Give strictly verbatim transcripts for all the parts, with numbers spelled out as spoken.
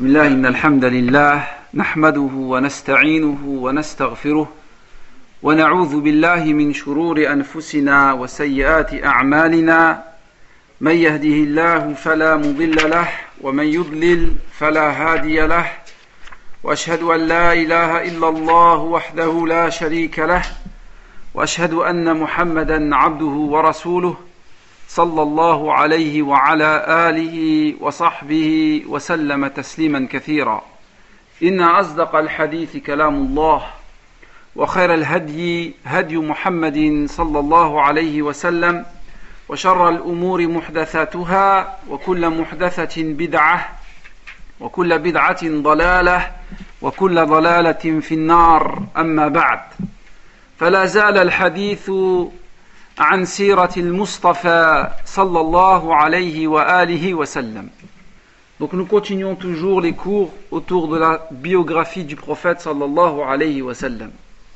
بسم الله إن الحمد لله نحمده ونستعينه ونستغفره ونعوذ بالله من شرور أنفسنا وسيئات أعمالنا من يهده الله فلا مضل له ومن يضلل فلا هادي له وأشهد أن لا إله إلا الله وحده لا شريك له وأشهد أن محمدا عبده ورسوله صلى الله عليه وعلى آله وصحبه وسلم تسليما كثيرا إن أصدق الحديث كلام الله وخير الهدي هدي محمد صلى الله عليه وسلم وشر الأمور محدثاتها وكل محدثة بدعة وكل بدعة ضلالة وكل ضلالة في النار أما بعد فلا زال الحديث عن سيرة المصطفى صلى الله عليه وآله وسلم. Donc nous continuons toujours les cours autour de la biographie du prophète sallallahu alayhi wa sallam.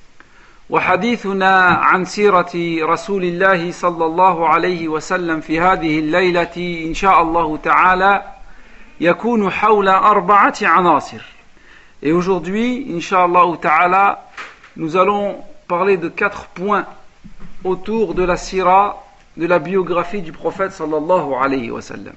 وحديثنا عن سيرة رسول الله صلى الله عليه وسلم في هذه الليلة إن شاء الله تعالى يكون حول أربعة عناصر. Et aujourd'hui, Inch'Allah ta'ala, nous allons parler de quatre points autour de la sira, de la biographie du prophète sallallahu alayhi wa sallam.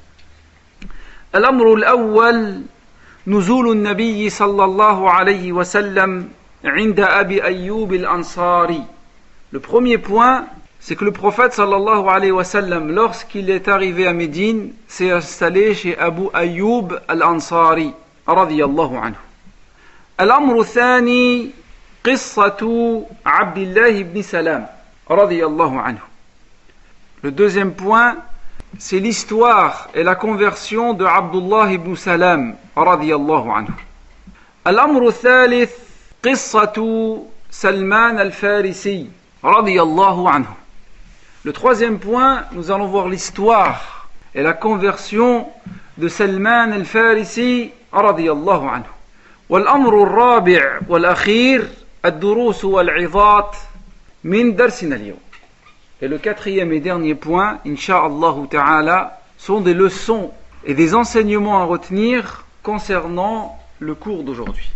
الأمر الأول نزول النبي صلى الله عليه وسلم عند أبي أيوب الأنصاري. Le premier point, c'est que le prophète sallallahu alayhi wa sallam, lorsqu'il est arrivé à Médine, s'est installé chez Abu Ayyub al-Ansari radiyallahu anhu. الأمر الثاني قصة عبد الله بن سلام radiyallahu anhu. Le deuxième point, c'est l'histoire et la conversion de Abdullah ibn Salam radiyallahu anhu. الأمر الثالث قصة سلمان الفارسي radiyallahu anhu. Le troisième point, nous allons voir l'histoire et la conversion de Salman al-Farisi radiyallahu anhu. والأمر الرابع والأخير الدروس والعظات من درسنا اليوم. Et le quatrième et dernier point, Inch'Allah ta'ala, sont des leçons et des enseignements à retenir concernant le cours d'aujourd'hui.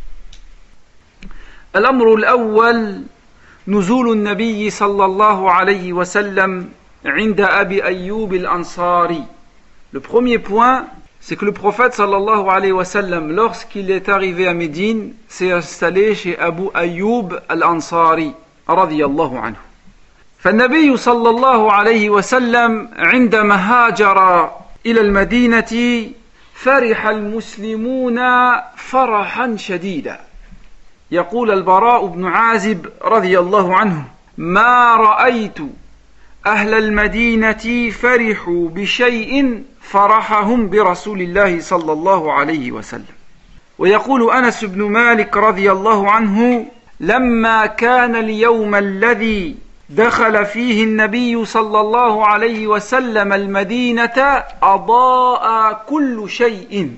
الأمر الأول نزول النبي صلى الله عليه وسلم عند أبي أيوب الأنصاري. Le premier point, c'est que le prophète sallallahu alayhi wa sallam, lorsqu'il est arrivé à Médine, s'est installé chez Abu Ayyub al-Ansari radiyallahu anhu. فالنبي صلى الله عليه وسلم عندما هاجر إلى المدينة فرح المسلمون فرحا شديدا. يقول البراء بن عازب رضي الله عنه: ما رأيت أهل المدينة فرحوا بشيء فرحهم برسول الله صلى الله عليه وسلم. ويقول أنس بن مالك رضي الله عنه: لما كان اليوم الذي دخل فيه النبي صلى الله عليه وسلم المدينة أضاء كل شيء،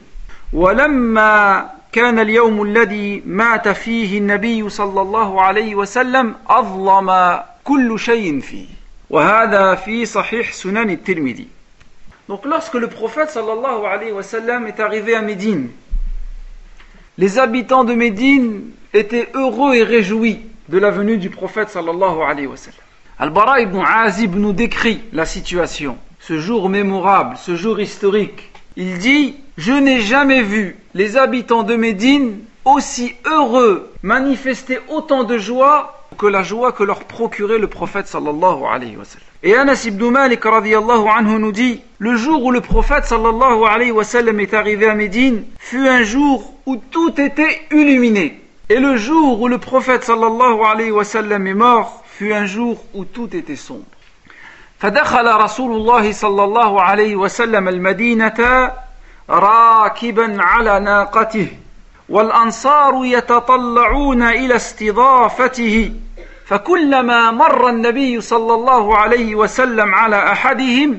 ولما كان اليوم الذي مات فيه النبي صلى الله عليه وسلم أظلم كل شيء فيه. وهذا في صحيح سنن الترمذي. Donc lorsque le prophète sallallahu alayhi wa sallam est arrivé à Médine, les habitants de Médine étaient heureux et réjouis de la venue du prophète sallallahu alayhi wa sallam. Al-Bara ibn Azib nous décrit la situation, ce jour mémorable, ce jour historique. Il dit: je n'ai jamais vu les habitants de Médine aussi heureux, manifester autant de joie que la joie que leur procurait le prophète sallallahu alayhi wa sallam. Et Anas ibn Malik radiyallahu anhu nous dit: le jour où le prophète sallallahu alayhi wa sallam est arrivé à Médine fut un jour où tout était illuminé. Et le jour où le prophète sallallahu alayhi wa sallam est mort fut un jour où tout était sombre. فدخل رسول الله صلى الله عليه وسلم المدينة راكبا على ناقته والأنصار يتطلعون إلى استضافته، فكلما مر النبي صلى الله عليه وسلم على أحدهم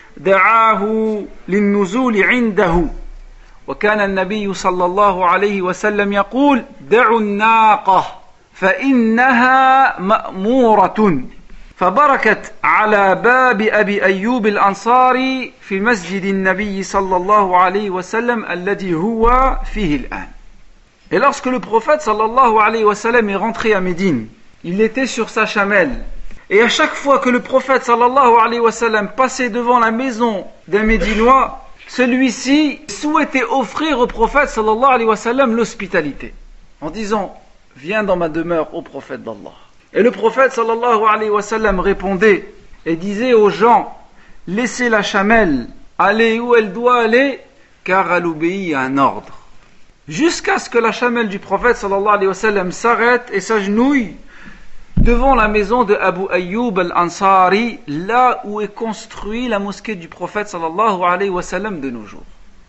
دعاه للنزول عنده. وكان النبي صلى الله عليه وسلم يقول: دعوا الناقة فإنها مأمورة. فبركت على باب أبي أيوب الأنصاري في مسجد النبي صلى الله عليه وسلم الذي هو فيه الآن. Et lorsque le prophète sallallahu alayhi wa sallam est rentré à Médine, il était sur sa chamelle. Et à chaque fois que le prophète sallallahu alayhi wa sallam passait devant la maison d'un Médinois, celui-ci souhaitait offrir au prophète sallallahu alayhi wa sallam l'hospitalité, en disant « Viens dans ma demeure, ô prophète d'Allah ». Et le prophète sallallahu alayhi wa sallam répondait et disait aux gens « Laissez la chamelle aller où elle doit aller, car elle obéit à un ordre. » Jusqu'à ce que la chamelle du prophète sallallahu alayhi wa sallam s'arrête et s'agenouille devant la maison de Abu Ayyub al-Ansari, là où est construite la mosquée du prophète sallallahu alayhi wa sallam de nos jours.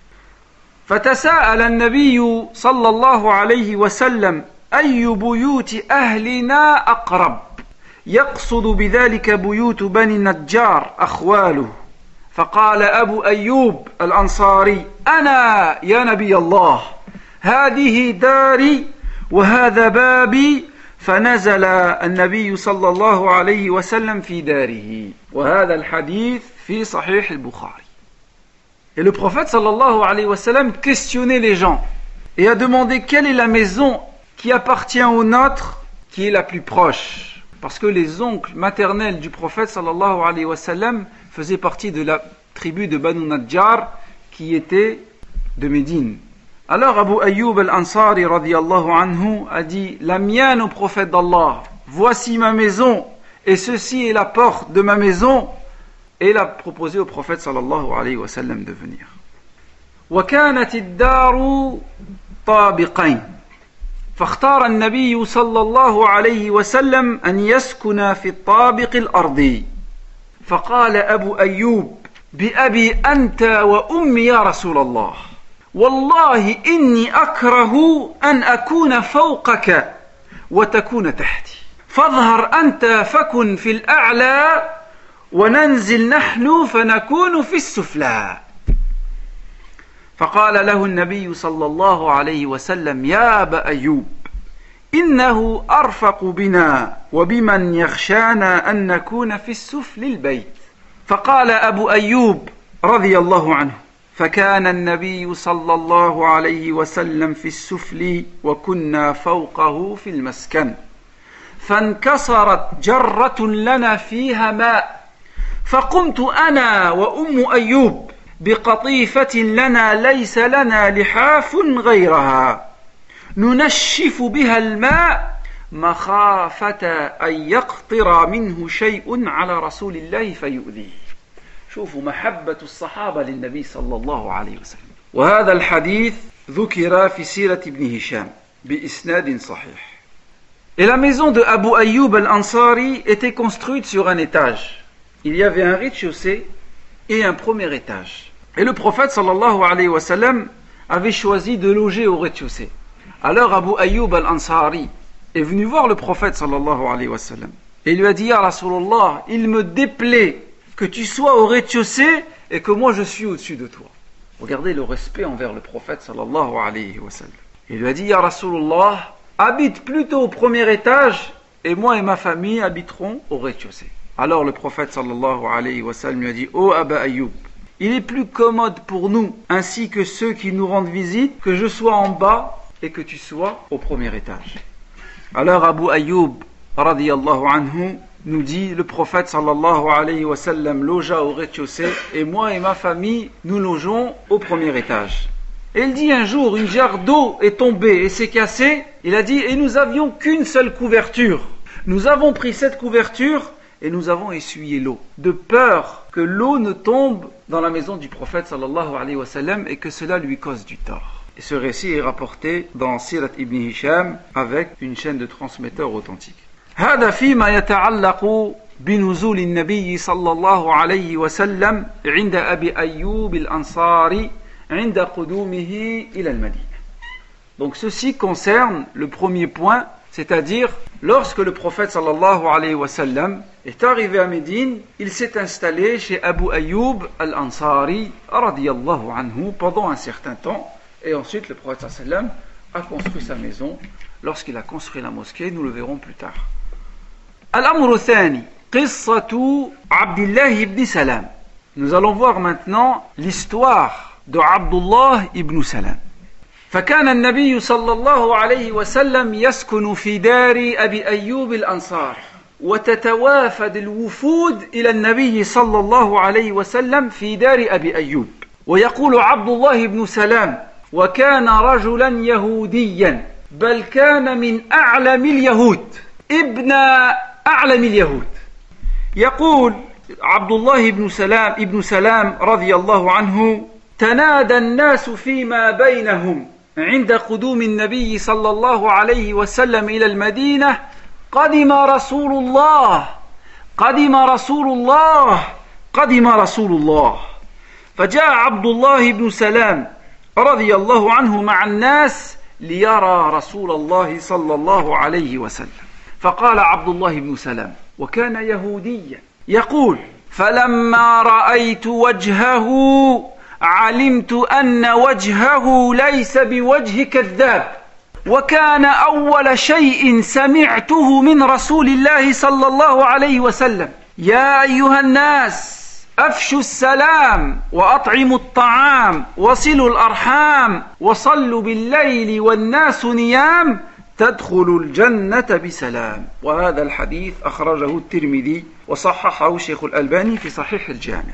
فَتَسَاءَلَ النَّبِيُّ صلى الله عليه وسلم أي بيوت أهلنا أقرب يقصد بذلك بيوت بني النجار أخواله فقال أبو أيوب الأنصاري أنا يا نبي الله هذه داري وهذا بابي فنزل النبي صلى الله عليه وسلم في داره وهذا الحديث في صحيح البخاري. Et le prophète sallallahu alayhi wa sallam questionnait les gens et a demandé quelle est la maison qui appartient au nôtre, qui est la plus proche. Parce que les oncles maternels du prophète sallallahu alayhi wa sallam faisaient partie de la tribu de Banu Najjar qui était de Médine. Alors Abu Ayyub al-Ansari radiyallahu anhu a dit « La mienne au prophète d'Allah, voici ma maison et ceci est la porte de ma maison. » Et il a proposé au prophète sallallahu alayhi wa sallam de venir. وَكَانَتِ الدَّارُ طَابِقَيْنِ فاختار النبي صلى الله عليه وسلم أن يسكن في الطابق الأرضي فقال أبو أيوب بأبي أنت وأمي يا رسول الله والله إني أكره أن أكون فوقك وتكون تحتي فاظهر أنت فكن في الأعلى وننزل نحن فنكون في السفلى فقال له النبي صلى الله عليه وسلم يا أبا أيوب إنه أرفق بنا وبمن يخشانا أن نكون في السفل البيت فقال أبو أيوب رضي الله عنه فكان النبي صلى الله عليه وسلم في السفل وكنا فوقه في المسكن فانكسرت جرة لنا فيها ماء فقمت أنا وأم أيوب بقطيفة لنا ليس لنا لحاف غيرها ننشف بها الماء مخافة أن يقطر منه شيء على رسول الله فيؤذيه. شوفوا محبة الصحابة للنبي صلى الله عليه وسلم. وهذا الحديث ذكر في سيرة ابن هشام بإسناد صحيح. Et la maison de Abu Ayyub al-Ansari était construite sur un étage. Il y avait un rez-de-chaussée et un premier étage. Et le prophète sallallahu alayhi wa sallam avait choisi de loger au rez-de-chaussée. Alors Abu Ayyub al-Ansari est venu voir le prophète sallallahu alayhi wa sallam et lui a dit Ya Rasulallah, il me déplaît que tu sois au rez-de-chaussée et que moi je suis au-dessus de toi. Regardez le respect envers le prophète sallallahu alayhi wa sallam. Il lui a dit Ya Rasulallah, habite plutôt au premier étage et moi et ma famille habiterons au rez-de-chaussée. Alors le prophète sallallahu alayhi wa sallam lui a dit Ô Abu Ayyub, il est plus commode pour nous, ainsi que ceux qui nous rendent visite, que je sois en bas et que tu sois au premier étage. Alors Abu Ayyub radiyallahu anhu nous dit le prophète sallallahu alayhi wa sallam logea au rez-de-chaussée et moi et ma famille nous logeons au premier étage. Et il dit un jour une jarre d'eau est tombée et s'est cassée. Il a dit et nous avions qu'une seule couverture. Nous avons pris cette couverture et nous avons essuyé l'eau, de peur que l'eau ne tombe dans la maison du prophète sallallahu alayhi wa sallam et que cela lui cause du tort. Et ce récit est rapporté dans Sirat ibn Hisham avec une chaîne de transmetteurs authentiques. هذا فيما يتعلق بنزول النبي صلى الله عليه وسلم عند أبي أيوب الأنصاري عند قدومه إلى المدينة. Donc ceci concerne le premier point, c'est-à-dire lorsque le prophète sallallahu alayhi wa sallam est arrivé à Médine, il s'est installé chez Abu Ayyub al-Ansari radiyallahu anhu pendant un certain temps et ensuite le prophète sallallahu alayhi wa sallam a construit sa maison. Lorsqu'il a construit la mosquée, nous le verrons plus tard. الأمر الثاني قصة عبد الله بن سلام. Nous allons voir maintenant l'histoire de Abdullah ibn Salam. فكان النبي صلى الله عليه وسلم يسكن في دار أبي أيوب الأنصار، وتتوافد الوفود إلى النبي صلى الله عليه وسلم في دار أبي أيوب. ويقول عبد الله بن سلام: وكان رجلا يهوديا، بل كان من أعلم اليهود، ابن أعلم اليهود. يقول عبد الله بن سلام ابن سلام رضي الله عنه: تنادى الناس فيما بينهم عند قدوم النبي صلى الله عليه وسلم إلى المدينة: قدم رسول الله، قدم رسول الله، قدم رسول الله. فجاء عبد الله بن سلام رضي الله عنه مع الناس ليرى رسول الله صلى الله عليه وسلم. فقال عبد الله بن سلام، وكان يهوديا، يقول: فلما رأيت وجهه علمت أن وجهه ليس بوجه كذاب، وكان أول شيء سمعته من رسول الله صلى الله عليه وسلم: يا أيها الناس أفشوا السلام وأطعموا الطعام وصلوا الأرحام وصلوا بالليل والناس نيام تدخلوا الجنة بسلام. وهذا الحديث أخرجه الترمذي وصححه الشيخ الألباني في صحيح الجامع.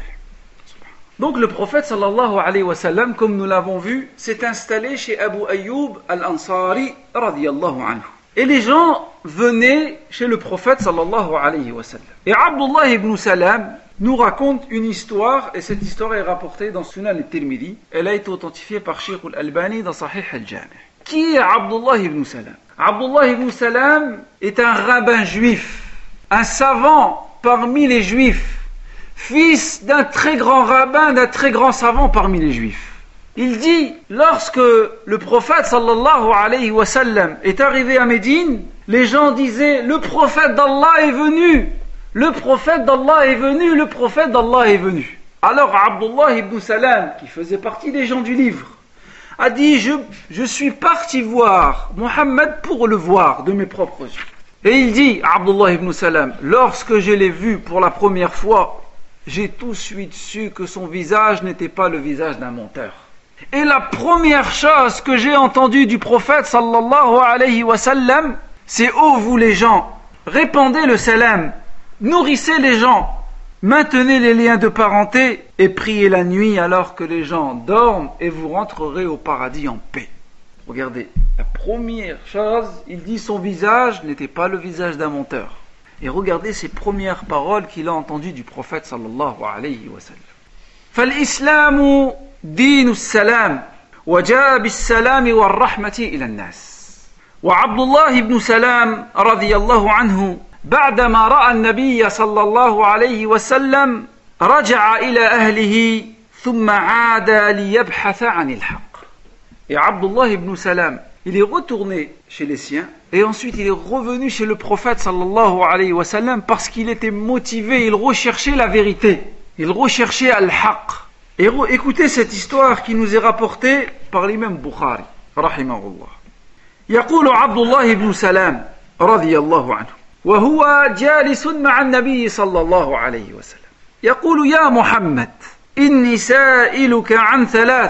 Donc le prophète sallallahu alayhi wa sallam, comme nous l'avons vu, s'est installé chez Abu Ayyub al-Ansari radiyallahu anhu. Et les gens venaient chez le prophète sallallahu alayhi wa sallam. Et Abdullah ibn Salam nous raconte une histoire, et cette histoire est rapportée dans Sunan al-Tirmidhi. Elle a été authentifiée par Sheikh al-Albani dans Sahih al-Jami'. Qui est Abdullah ibn Salam? Abdullah ibn Salam est un rabbin juif, un savant parmi les juifs, fils d'un très grand rabbin, d'un très grand savant parmi les juifs. Il dit, lorsque le prophète sallallahu alayhi wa sallam est arrivé à Médine, les gens disaient: le prophète d'Allah est venu, le prophète d'Allah est venu, le prophète d'Allah est venu. Alors Abdullah ibn Salam, qui faisait partie des gens du livre, a dit: je, je suis parti voir Mohammed pour le voir de mes propres yeux. Et il dit, Abdullah ibn Salam, lorsque je l'ai vu pour la première fois, j'ai tout de suite su que son visage n'était pas le visage d'un menteur. Et la première chose que j'ai entendue du prophète sallallahu alayhi wa sallam, c'est: ô vous les gens, répandez le salam, nourrissez les gens, maintenez les liens de parenté et priez la nuit alors que les gens dorment, et vous rentrerez au paradis en paix. Regardez, la première chose, il dit son visage n'était pas le visage d'un menteur. Et regardez ces premières paroles qu'il a entendues du prophète sallallahu alayhi wa sallam. فالإسلام دين السلام وجاء بالسلام والرحمة إلى الناس. وعبد الله بن سلام رضي الله عنه بعدما رأى النبي صلى الله عليه وسلم رجع إلى أهله ثم عاد ليبحث عن الحق. Et Abdullah ibn Salam, il est retourné chez les siens et ensuite il est revenu chez le prophète sallallahu alayhi wa sallam parce qu'il était motivé, il recherchait la vérité, il recherchait al-haq. Et re- écoutez cette histoire qui nous est rapportée par l'imam Bukhari rahimahullah. يقول عبد الله بن سلام رضي الله عنه وهو جالس مع النبي صلى الله عليه وسلم يقول: يا محمد إني سائلك عن ثلاث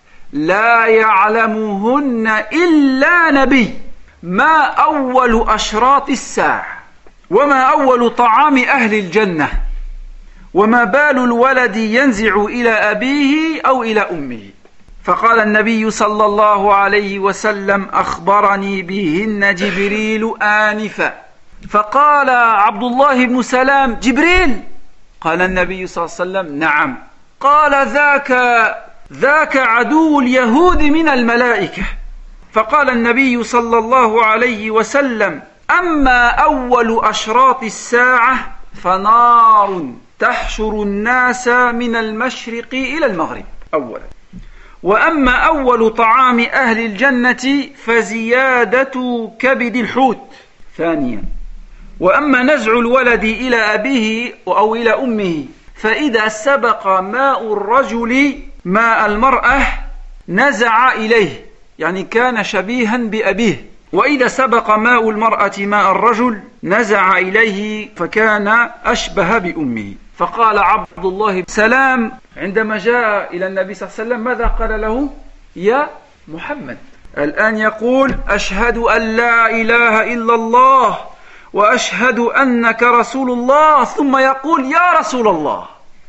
لا يعلمهن إلا نبي، ما أول أشراط الساعة، وما أول طعام أهل الجنة، وما بال الولد ينزع إلى أبيه أو إلى أمه. فقال النبي صلى الله عليه وسلم: أخبرني بهن جبريل آنفا. فقال عبد الله بن سلام: جبريل؟ قال النبي صلى الله عليه وسلم: نعم. قال: ذاك ذاك عدو اليهود من الملائكة. فقال النبي صلى الله عليه وسلم: أما أول أشراط الساعة فنار تحشر الناس من المشرق إلى المغرب أولا، وأما أول طعام أهل الجنة فزيادة كبد الحوت ثانيا، وأما نزع الولد إلى أبيه أو إلى أمه فإذا سبق ماء الرجل ماء المرأة نزع إليه، يعني كان شبيها بأبيه، وإذا سبق ماء المرأة ماء الرجل نزع إليه فكان أشبه بأمه. فقال عبد الله بن سلام عندما جاء إلى النبي صلى الله عليه وسلم ماذا قال له؟ يا محمد. الآن يقول أشهد أن لا إله إلا الله وأشهد أنك رسول الله ثم يقول يا رسول الله.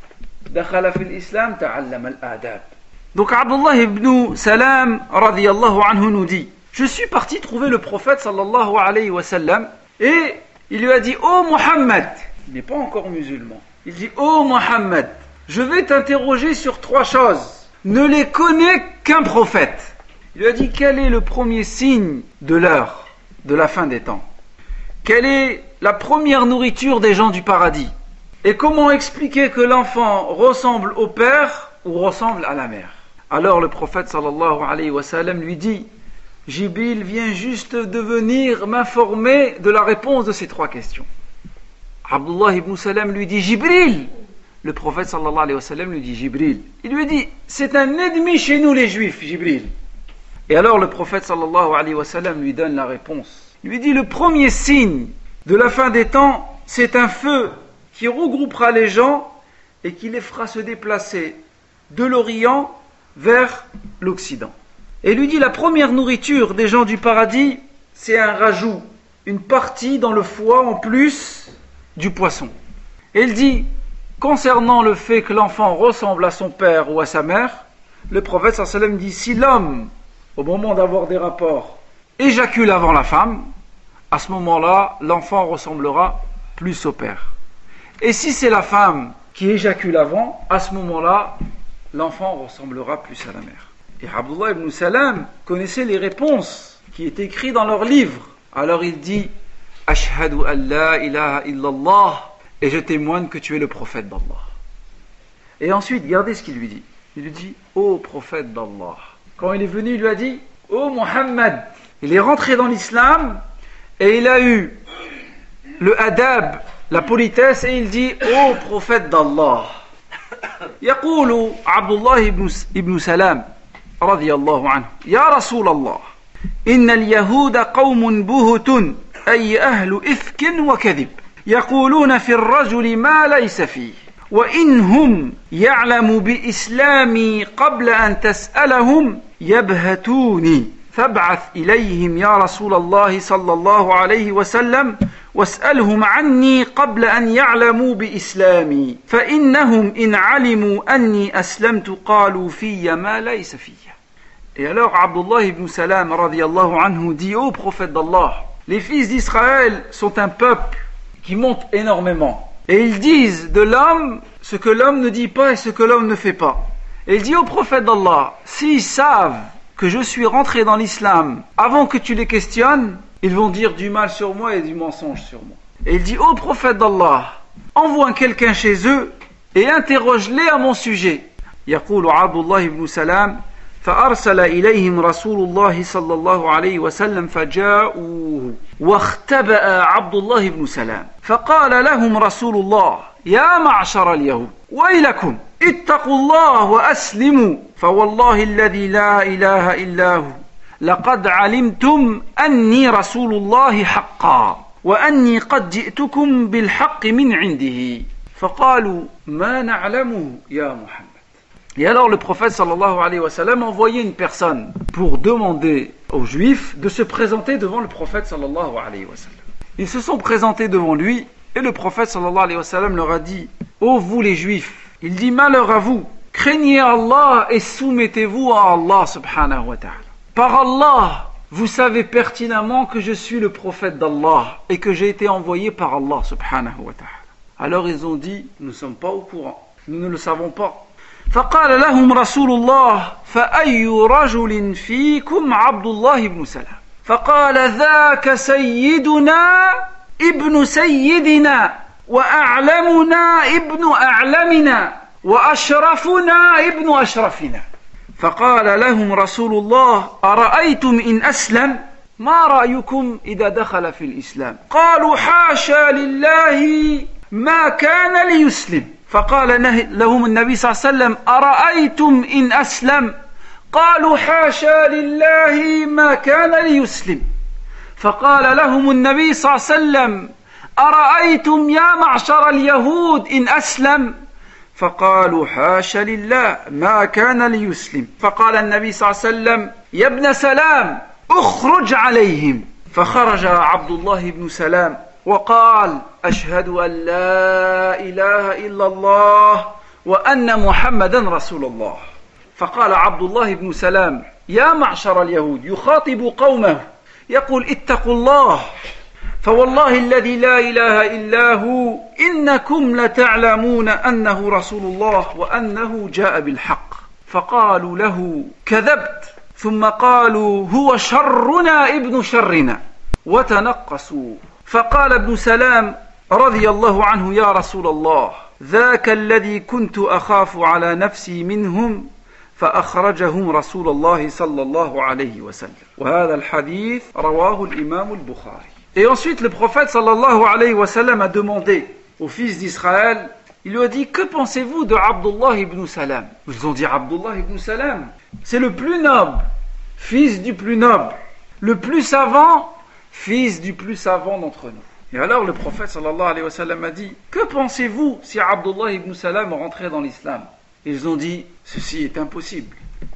دخل في الإسلام تعلم الآداب. Donc Abdullah ibn Salam radiyallahu anhu nous dit, je suis parti trouver le prophète sallallahu alayhi wa sallam et il lui a dit, oh Muhammad, il n'est pas encore musulman, il dit, oh Muhammad, je vais t'interroger sur trois choses, ne les connais qu'un prophète. Il lui a dit, quel est le premier signe de l'heure, de la fin des temps? Quelle est la première nourriture des gens du paradis? Et comment expliquer que l'enfant ressemble au père ou ressemble à la mère? Alors le prophète sallallahu alayhi wa sallam lui dit, Jibril vient juste de venir m'informer de la réponse de ces trois questions. Abdullah ibn Salam lui dit, Jibril. Le prophète sallallahu alayhi wa sallam lui dit, Jibril. Il lui dit, c'est un ennemi chez nous les juifs, Jibril. Et alors le prophète sallallahu alayhi wa sallam lui donne la réponse. Il lui dit, le premier signe de la fin des temps, c'est un feu qui regroupera les gens et qui les fera se déplacer de l'Orient vers l'Occident. Et il lui dit, la première nourriture des gens du paradis, c'est un rajout, une partie dans le foie en plus du poisson. Et il dit, concernant le fait que l'enfant ressemble à son père ou à sa mère, le prophète sallallahu alayhi wa sallam dit, si l'homme, au moment d'avoir des rapports, éjacule avant la femme, à ce moment-là, l'enfant ressemblera plus au père. Et si c'est la femme qui éjacule avant, à ce moment-là, l'enfant ressemblera plus à la mère. Et Abdullah ibn Salam connaissait les réponses qui étaient écrites dans leurs livres. Alors il dit, Ashhadu an la ilaha illallah, et je témoigne que tu es le prophète d'Allah. Et ensuite, regardez ce qu'il lui dit. Il lui dit, ô prophète d'Allah. Quand il est venu, il lui a dit, ô Muhammad. Il est rentré dans l'islam et il a eu le adab, la politesse, et il dit, ô prophète d'Allah. يقول عبد الله بن سلام رضي الله عنه يا رسول الله إن اليهود قوم بهت أي أهل إفك وكذب يقولون في الرجل ما ليس فيه وإنهم يعلم بإسلامي قبل أن تسألهم يبهتوني فابعث إليهم يا رسول الله صلى الله عليه وسلم واسألهم عني قبل أن يعلموا بإسلامي فإنهم إن علموا أني أسلمت قالوا في ما ليس في. Et alors Abdullah ibn Salam radiyallahu anhu dit, ô prophète d'Allah, les fils d'Israël sont un peuple qui monte énormément et ils disent de l'homme ce que l'homme ne dit pas et ce que l'homme ne fait pas. Et il dit au prophète d'Allah, s'ils savent que je suis rentré dans l'islam avant que tu les questionnes, ils vont dire du mal sur moi et du mensonge sur moi. Et il dit, ô prophète d'Allah, envoie quelqu'un chez eux et interroge-les à mon sujet. يقول عبد الله بن سلام فأرسل إليهم رسول الله صلى الله عليه وسلم فجاءوه واختبأ عبد الله بن سلام فقال لهم رسول الله يا معشر اليهود ويلكم اتقوا الله وأسلموا فوالله الذي لا إله إلا هو لقد علمتم أني رسول الله حقا وأني قد جئتكم بالحق من عنده فقالوا ما نعلمه يا محمد. Et alors le prophète sallallahu alayhi wa sallam envoyait une personne pour demander aux juifs de se présenter devant le prophète sallallahu alayhi wa sallam. Ils se sont présentés devant lui et le prophète sallallahu alayhi wa sallam leur a dit, ô vous les juifs, il dit malheur à vous, craignez Allah et soumettez-vous à Allah subhanahu wa ta'ala. Par Allah, vous savez pertinemment que je suis le prophète d'Allah et que j'ai été envoyé par Allah subhanahu wa ta'ala. Alors ils ont dit, nous ne sommes pas au courant, nous ne le savons pas. فقال لهم رسول الله فأي رجل فيكم عبد الله بن سلام فقال ذاك سيدنا ابن سيدنا وأعلمنا ابن أعلمنا وأشرفنا ابن أشرفنا فقال لهم رسول الله أرأيتم إن أسلم ما رأيكم إذا دخل في الإسلام قالوا حاشا لله ما كان ليسلم فقال لهم النبي صلى الله عليه وسلم أرأيتم إن أسلم قالوا حاشا لله ما كان ليسلم فقال لهم النبي صلى الله عليه وسلم أرأيتم يا معشر اليهود إن أسلم فقالوا حاش لله ما كان ليسلم فقال النبي صلى الله عليه وسلم يا ابن سلام اخرج عليهم فخرج عبد الله بن سلام وقال أشهد أن لا إله إلا الله وأن محمدا رسول الله فقال عبد الله بن سلام يا معشر اليهود يخاطب قومه يقول اتقوا الله فوالله الذي لا إله إلا هو إنكم لتعلمون أنه رسول الله وأنه جاء بالحق فقالوا له كذبت ثم قالوا هو شرنا ابن شرنا وتنقصوا فقال ابن سلام رضي الله عنه يا رسول الله ذاك الذي كنت أخاف على نفسي منهم فأخرجهم رسول الله صلى الله عليه وسلم وهذا الحديث رواه الإمام البخاري. Et ensuite le prophète sallallahu alayhi wa sallam a demandé aux fils d'Israël, il lui a dit que pensez-vous de Abdullah ibn Salam? Ils ont dit Abdullah ibn Salam, c'est le plus noble, fils du plus noble, le plus savant, fils du plus savant d'entre nous. Et alors le prophète sallallahu alayhi wa sallam a dit que pensez-vous si Abdullah ibn Salam rentrait dans l'islam? Ils ont dit ceci est impossible,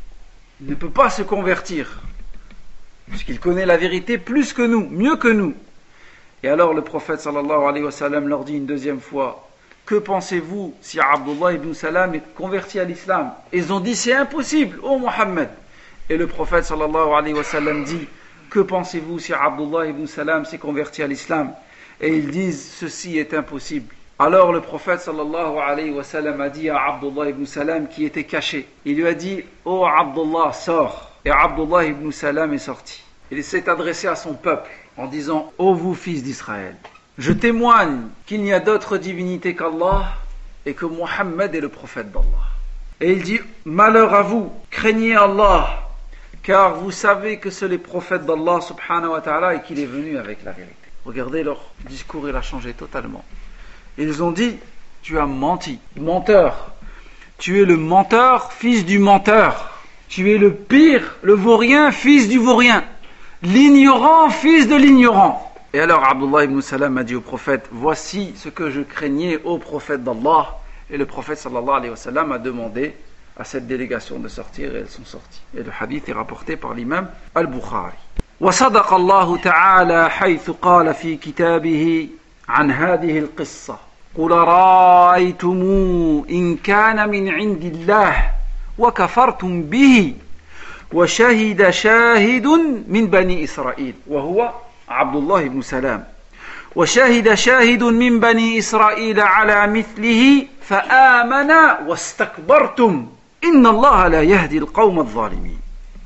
il ne peut pas se convertir puisqu'il connaît la vérité plus que nous, mieux que nous. Et alors le prophète sallallahu alayhi wa sallam leur dit une deuxième fois que pensez-vous si Abdullah ibn Salam est converti à l'islam? Ils ont dit c'est impossible, ô Mohammed. Et le prophète sallallahu alayhi wa sallam dit que pensez-vous si Abdullah ibn Salam s'est converti à l'islam? Et ils disent ceci est impossible. Alors le prophète sallallahu alayhi wa sallam a dit à Abdullah ibn Salam qui était caché, il lui a dit ô Abdullah sors. Et Abdullah ibn Salam est sorti. Il s'est adressé à son peuple en disant ô vous fils d'Israël, je témoigne qu'il n'y a d'autre divinité qu'Allah et que Mohammed est le prophète d'Allah. Et il dit malheur à vous, craignez Allah, car vous savez que c'est le prophète d'Allah subhanahu wa ta'ala et qu'il est venu avec la vérité. Regardez leur discours, il a changé totalement. Ils ont dit tu as menti, menteur, tu es le menteur, fils du menteur, tu es le pire, le vaurien, fils du vaurien, l'ignorant, fils de l'ignorant. Et alors Abdullah ibn Salam a dit au prophète voici ce que je craignais au prophète d'Allah. Et le prophète sallallahu alayhi wa sallam a demandé à cette délégation de sortir et elles sont sorties. Et le hadith est rapporté par l'imam al-Bukhari. وصدق الله تعالى حيث قال في كتابه عن هذه القصة قل رأيتم إن كان من عند الله وكفرتم به وشهد شاهد من بني إسرائيل وهو عبد الله بن سلام وشهد شاهد من بني إسرائيل على مثله فآمن واستكبرتم إن الله لا يهدي القوم الظالمين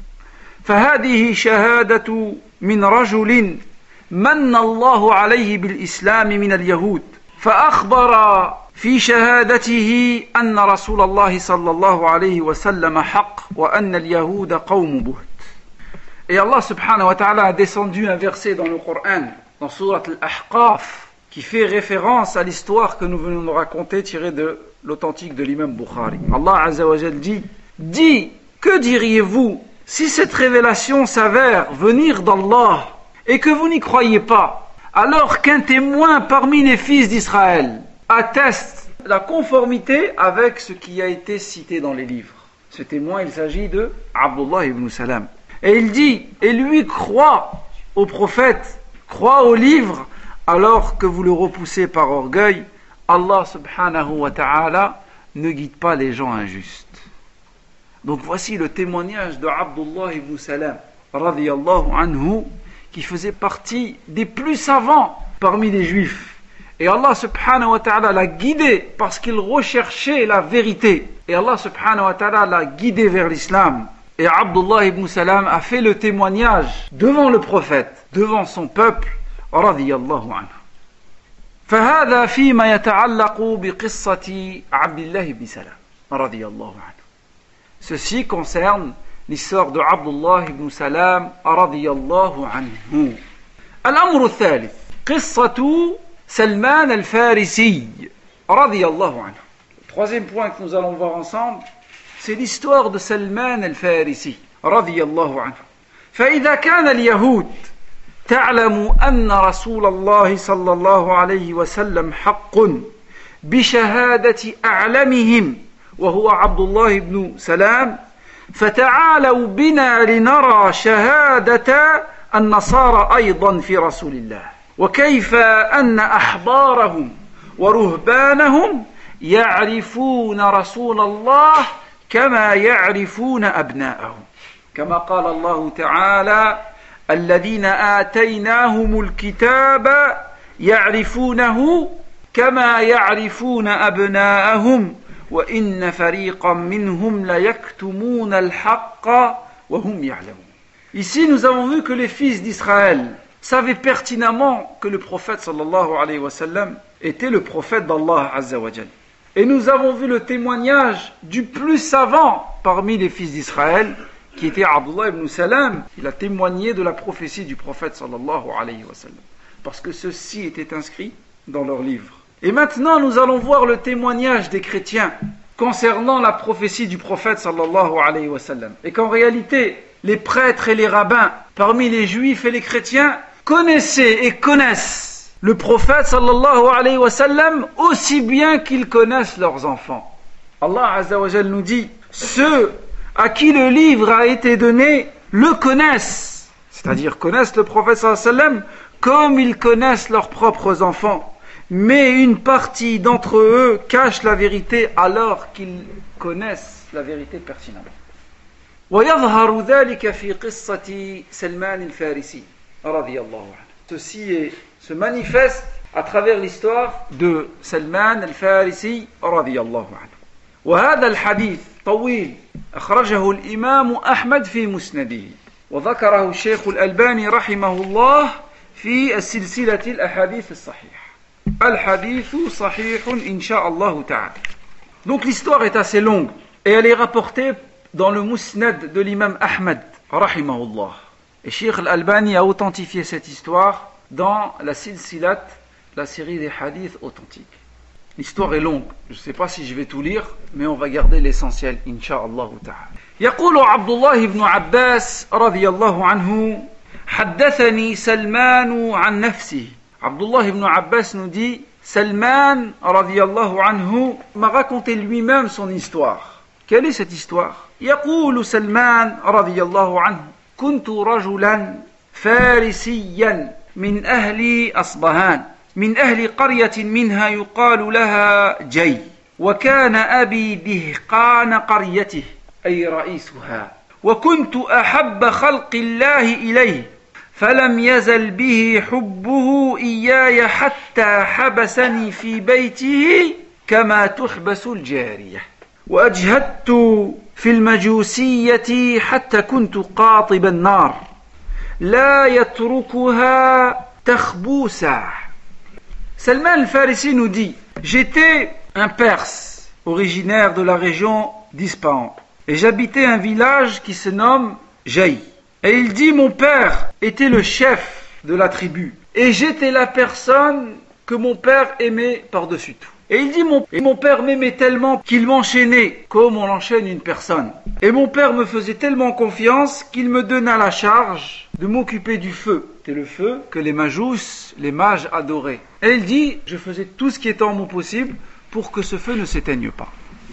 فهذه شهادة من رجل من الله عليه بالإسلام من اليهود فأخبر في شهادته أن رسول الله صلى الله عليه وسلم حق وأن اليهود قوم بهت. Et Allah subhanahu wa ta'ala a descendu un verset dans le Coran, dans Surat Al-Ahqaf, qui fait référence à l'histoire que nous venons de raconter tirée de l'authentique de l'imam Bukhari. Allah azza wa jal dit, dit, que diriez-vous si cette révélation s'avère venir d'Allah et que vous n'y croyez pas, alors qu'un témoin parmi les fils d'Israël atteste la conformité avec ce qui a été cité dans les livres. Ce témoin, il s'agit de Abdullah ibn Salam. Et il dit, et lui croit au prophète, croit au livre, alors que vous le repoussez par orgueil, Allah subhanahu wa ta'ala ne guide pas les gens injustes. Donc voici le témoignage de Abdullah ibn Salam, radiyallahu anhu, qui faisait partie des plus savants parmi les juifs. Et Allah subhanahu wa ta'ala l'a guidé parce qu'il recherchait la vérité. Et Allah subhanahu wa ta'ala l'a guidé vers l'islam. Et Abdullah ibn Salam a fait le témoignage devant le prophète, devant son peuple, radiyallahu anhu. فهذا فيما يتعلق بقصة عبد الله بن سلام رضي الله عنه. Ceci concerne l'histoire de Abdullah ibn Salam رضي الله عنه. الأمر الثالث قصة سلمان الفارسي رضي الله عنه. Le troisième point que nous allons voir ensemble, c'est l'histoire de Salman al-Farisi رضي الله عنه. فإذا كان اليهود تعلم أن رسول الله صلى الله عليه وسلم حق بشهادة أعلمهم وهو عبد الله بن سلام فتعالوا بنا لنرى شهادة النصارى أيضا في رسول الله وكيف أن أحبارهم ورهبانهم يعرفون رسول الله كما يعرفون أبناءهم كما قال الله تعالى الذين آتيناهم الكتاب يعرفونه كما يعرفون أبناءهم وإن فريقا منهم ليكتمون الحق وهم يعلمون. Ici nous avons vu que les fils d'Israël savaient pertinemment que le prophète sallallahu alayhi wa sallam était le prophète d'Allah azza wa jal. Et nous avons vu le témoignage du plus savant parmi les fils d'Israël qui était Abdullah ibn Salam. Il a témoigné de la prophétie du prophète sallallahu alayhi wa sallam parce que ceci était inscrit dans leur livre. Et maintenant nous allons voir le témoignage des chrétiens concernant la prophétie du prophète sallallahu alayhi wa sallam et qu'en réalité les prêtres et les rabbins parmi les juifs et les chrétiens connaissaient et connaissent le prophète sallallahu alayhi wa sallam aussi bien qu'ils connaissent leurs enfants. Allah azza wa jal nous dit ceux à qui le livre a été donné le connaissent, c'est-à-dire connaissent le prophète sallallahu alayhi wa sallam comme ils connaissent leurs propres enfants. Mais une partie d'entre eux cache la vérité alors qu'ils connaissent la vérité pertinemment. ويظهر ذلك في قصة سلمان الفارسي رضي الله عنه. Ceci est, se manifeste à travers l'histoire de Salman al-Farisi رضي الله عنه. وهذا الحديث طويل أخرجه الإمام أحمد في مسنده وذكره الشيخ الألباني رحمه الله في السلسلة الأحاديث الصحيحة. Al-Hadithu sahihun insha'Allah ta'ala. Donc l'histoire est assez longue et elle est rapportée dans le Musnad de l'imam Ahmad rahimahullah. Et Cheikh Al-Albani a authentifié cette histoire dans la Silsilat, la série des hadiths authentiques. L'histoire est longue, je ne sais pas si je vais tout lire, mais on va garder l'essentiel insha'Allah ta'ala. يقول عبد الله بن عباس رضي الله عنه حدثني سلمان عن نفسه. Abdullah ibn Abbas nous dit Salman radiyallahu anhu m'a raconté lui-même son histoire. Quelle est cette histoire? يقول سلمان رضي الله عنه كنت رجلا فارسيا من أهل أصبهان من أهل قرية منها يقال لها جي وكان أبي دهقان قريته أي رئيسها وكنت أحب خلق الله إليه فلم يزل به حبه إياي حتى حبسني في بيته كما تحبس الجارية وأجهدت في المجوسية حتى كنت قاطب النار لا يتركها تخبوسا. Salman al-Farisi nous dit j'étais un Perse originaire de la région d'Ispahan et j'habitais un village qui se nomme Jay. Et il dit mon père était le chef de la tribu et j'étais la personne que mon père aimait par-dessus tout. Et il dit mon, et mon père m'aimait tellement qu'il m'enchaînait comme on enchaîne une personne. Et mon père me faisait tellement confiance qu'il me donna la charge de m'occuper du feu. C'est le feu que les majous, les mages adoraient. Et il dit je faisais tout ce qui était en mon possible pour que ce feu ne s'éteigne pas.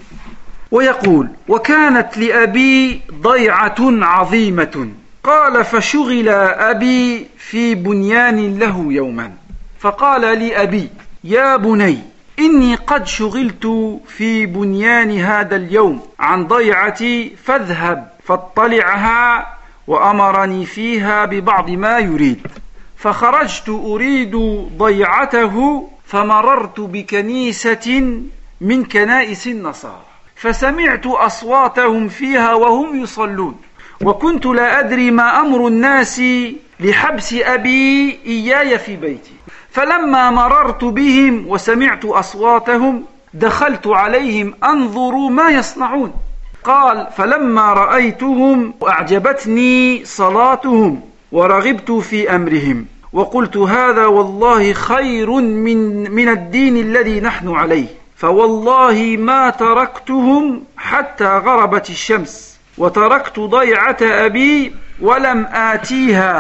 ويقول وكانت لأبي ضيعة عظيمة قال فشغل أبي في بنيان له يوما فقال لي أبي يا بني إني قد شغلت في بنيان هذا اليوم عن ضيعتي فاذهب فاطلعها وأمرني فيها ببعض ما يريد فخرجت أريد ضيعته فمررت بكنيسة من كنائس النصارى فسمعت أصواتهم فيها وهم يصلون وكنت لا أدري ما أمر الناس لحبس أبي إياي في بيتي فلما مررت بهم وسمعت أصواتهم دخلت عليهم أنظر ما يصنعون قال فلما رأيتهم أعجبتني صلاتهم ورغبت في أمرهم وقلت هذا والله خير من, من الدين الذي نحن عليه فوالله ما تركتهم حتى غربت الشمس وتركت ضيعة أبي ولم آتيها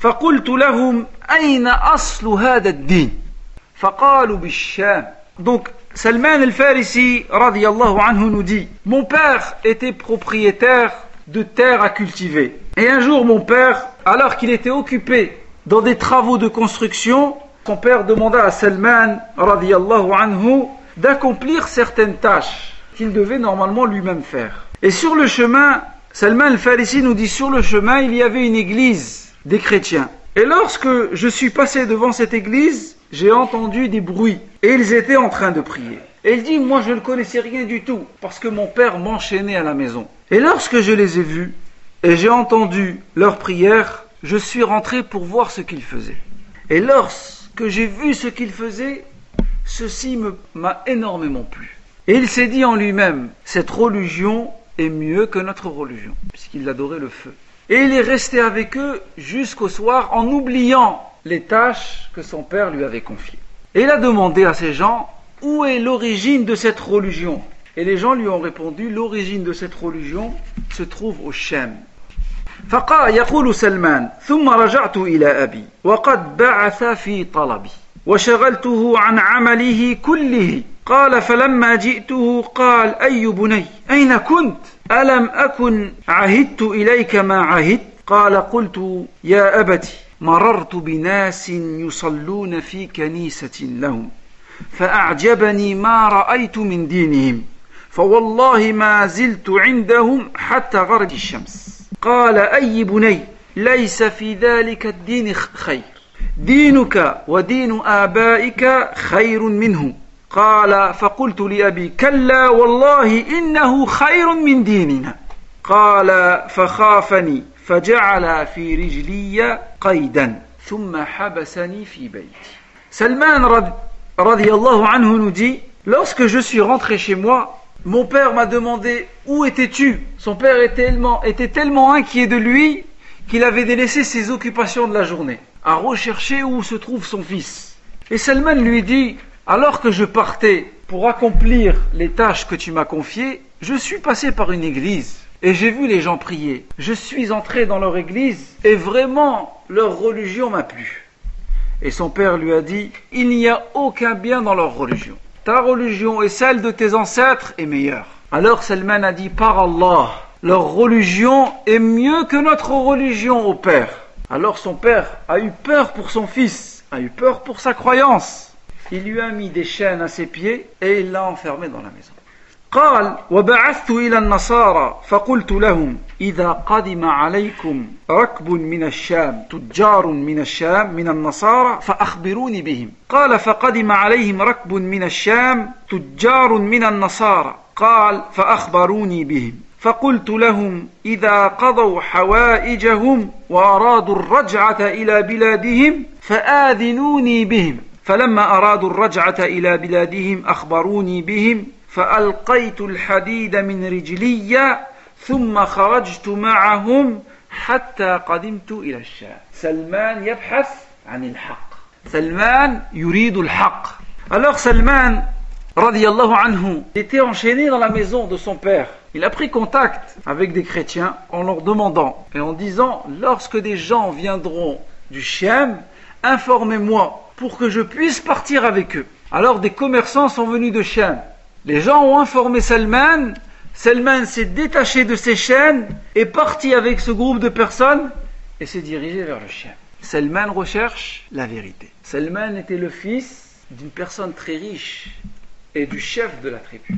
فقلت لهم أين أصل هذا الدين فقالوا بالشام. Donc Salman al-Farisi radiyallahu anhu nous dit: mon père était propriétaire de terres à cultiver. Et un jour mon père, alors qu'il était occupé dans des travaux de construction, son père demanda à Salman radiyallahu anhu d'accomplir certaines tâches qu'il devait normalement lui-même faire. Et sur le chemin, Salman al-Farisi nous dit, sur le chemin il y avait une église des chrétiens. Et lorsque je suis passé devant cette église, j'ai entendu des bruits et ils étaient en train de prier. Et il dit, moi je ne connaissais rien du tout parce que mon père m'enchaînait à la maison. Et lorsque je les ai vus et j'ai entendu leurs prières, je suis rentré pour voir ce qu'ils faisaient. Et lorsque j'ai vu ce qu'ils faisaient, ceci me, m'a énormément plu. Et il s'est dit en lui-même, cette religion est mieux que notre religion, puisqu'il adorait le feu. Et il est resté avec eux jusqu'au soir en oubliant les tâches que son père lui avait confiées. Et il a demandé à ces gens, où est l'origine de cette religion? Et les gens lui ont répondu, l'origine de cette religion se trouve au Sham. فقال يقول سلمان ثم رجعت إلى أبي وقد بعث في طلبي وشغلته عن عمله كله. قال فلما جئته قال أي بني أين كنت ألم أكن عهدت إليك ما عهدت؟ قال قلت يا أبتي مررت بناس يصلون في كنيسة لهم فأعجبني ما رأيت من دينهم فوالله ما زلت عندهم حتى غرب الشمس. قال أي بني ليس في ذلك الدين خير دينك ودين آبائك خير منه. قال فقلت لأبي كلا والله إنه خير من ديننا. قال فخافني فجعل في رجلي قيدا ثم حبسني في بيتي. Salman radiyallahu anhu nous dit, lorsque je suis rentré chez moi, mon père m'a demandé où étais-tu? Son père était tellement, était tellement inquiet de lui qu'il avait délaissé ses occupations de la journée à rechercher où se trouve son fils. Et Salman lui dit, alors que je partais pour accomplir les tâches que tu m'as confiées, je suis passé par une église et j'ai vu les gens prier. Je suis entré dans leur église et vraiment leur religion m'a plu. Et son père lui a dit, il n'y a aucun bien dans leur religion. Ta religion et celle de tes ancêtres est meilleure. Alors Salman a dit, par Allah, leur religion est mieux que notre religion au père. Alors son père a eu peur pour son fils, a eu peur pour sa croyance. Il lui a mis des chaînes à ses pieds et il l'a enfermé dans la maison. قال وبعثت إلى النصارى فقلت لهم إذا قدم عليكم ركب من الشام تجار من الشام من النصارى فأخبروني بهم. قال فقدم عليهم ركب من الشام تجار من النصارى. قال فأخبروني بهم. فقلت لهم إذا قضوا حوائجهم وأرادوا الرجعة إلى بلادهم فآذنوني بهم. فلما أرادوا الرجعة إلى بلادهم أخبروني بهم. فألقيت الحديد من رجلي ثم خرجت معهم حتى قدمت إلى الشام. سلمان يبحث عن الحق. سلمان يريد الحق. Alors Salman radiyallahu anhu était enchaîné dans la maison de son père. Il a pris contact avec des chrétiens en leur demandant et en disant, lorsque des gens viendront du Sham, informez-moi pour que je puisse partir avec eux. Alors des commerçants sont venus de Sham. Les gens ont informé Salman, Salman s'est détaché de ses chaînes, est parti avec ce groupe de personnes et s'est dirigé vers le Sham. Salman recherche la vérité. Salman était le fils d'une personne très riche et du chef de la tribu.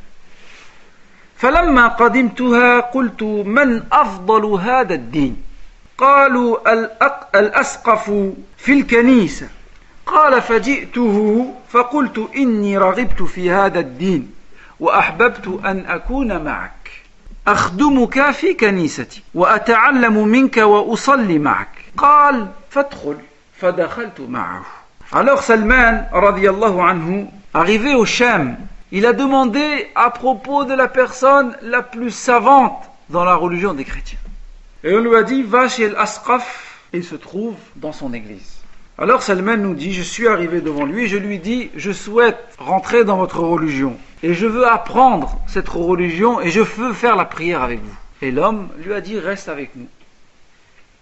فلما قدمتها قلت من أفضل هذا الدين؟ قالوا الأسقف في الكنيسة. قال فجئته فقلت إني رغبت في هذا الدين وأحببت أن أكون معك أخدمك في كنيستي وأتعلم منك وأصلي معك. قال فادخل. فدخلت معه. Alors Salman radiyallahu anhu, arrivé au Sham, il a demandé à propos de la personne la plus savante dans la religion des chrétiens. Et on lui a dit, va chez l'Asqaf, et il se trouve dans son église. Alors Salman nous dit, je suis arrivé devant lui et je lui dis, je souhaite rentrer dans votre religion et je veux apprendre cette religion et je veux faire la prière avec vous. Et l'homme lui a dit, reste avec nous.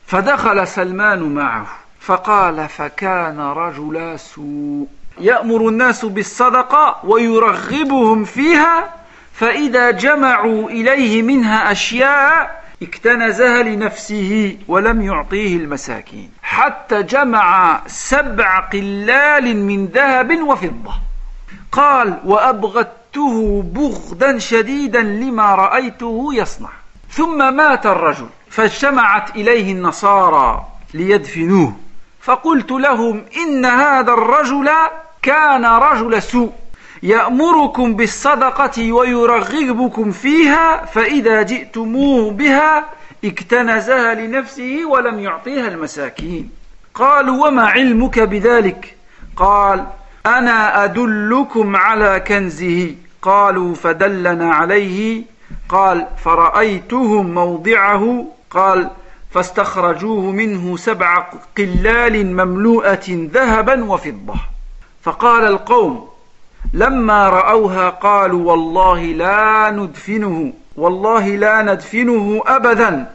فدخل سلمان معه فقال فكان رجل سوء يأمر الناس بالصدقة ويرغبهم فيها فإذا جمعوا إليه منها أشياء اكتنزها لنفسه ولم يعطيه المساكين حتى جمع سبع قلال من ذهب وفضة قال وأبغضته بغضا شديدا لما رأيته يصنع ثم مات الرجل فاجتمعت إليه النصارى ليدفنوه فقلت لهم إن هذا الرجل كان رجل سوء يأمركم بالصدقة ويرغبكم فيها فإذا جئتموه بها اكتنزها لنفسه ولم يعطيها المساكين قالوا وما علمك بذلك قال أنا أدلكم على كنزه قالوا فدلنا عليه قال فرأيتهم موضعه قال فاستخرجوه منه سبع قلال مملوءة ذهبا وفضة فقال القوم لما رأوها قالوا والله لا ندفنه والله لا ندفنه أبدا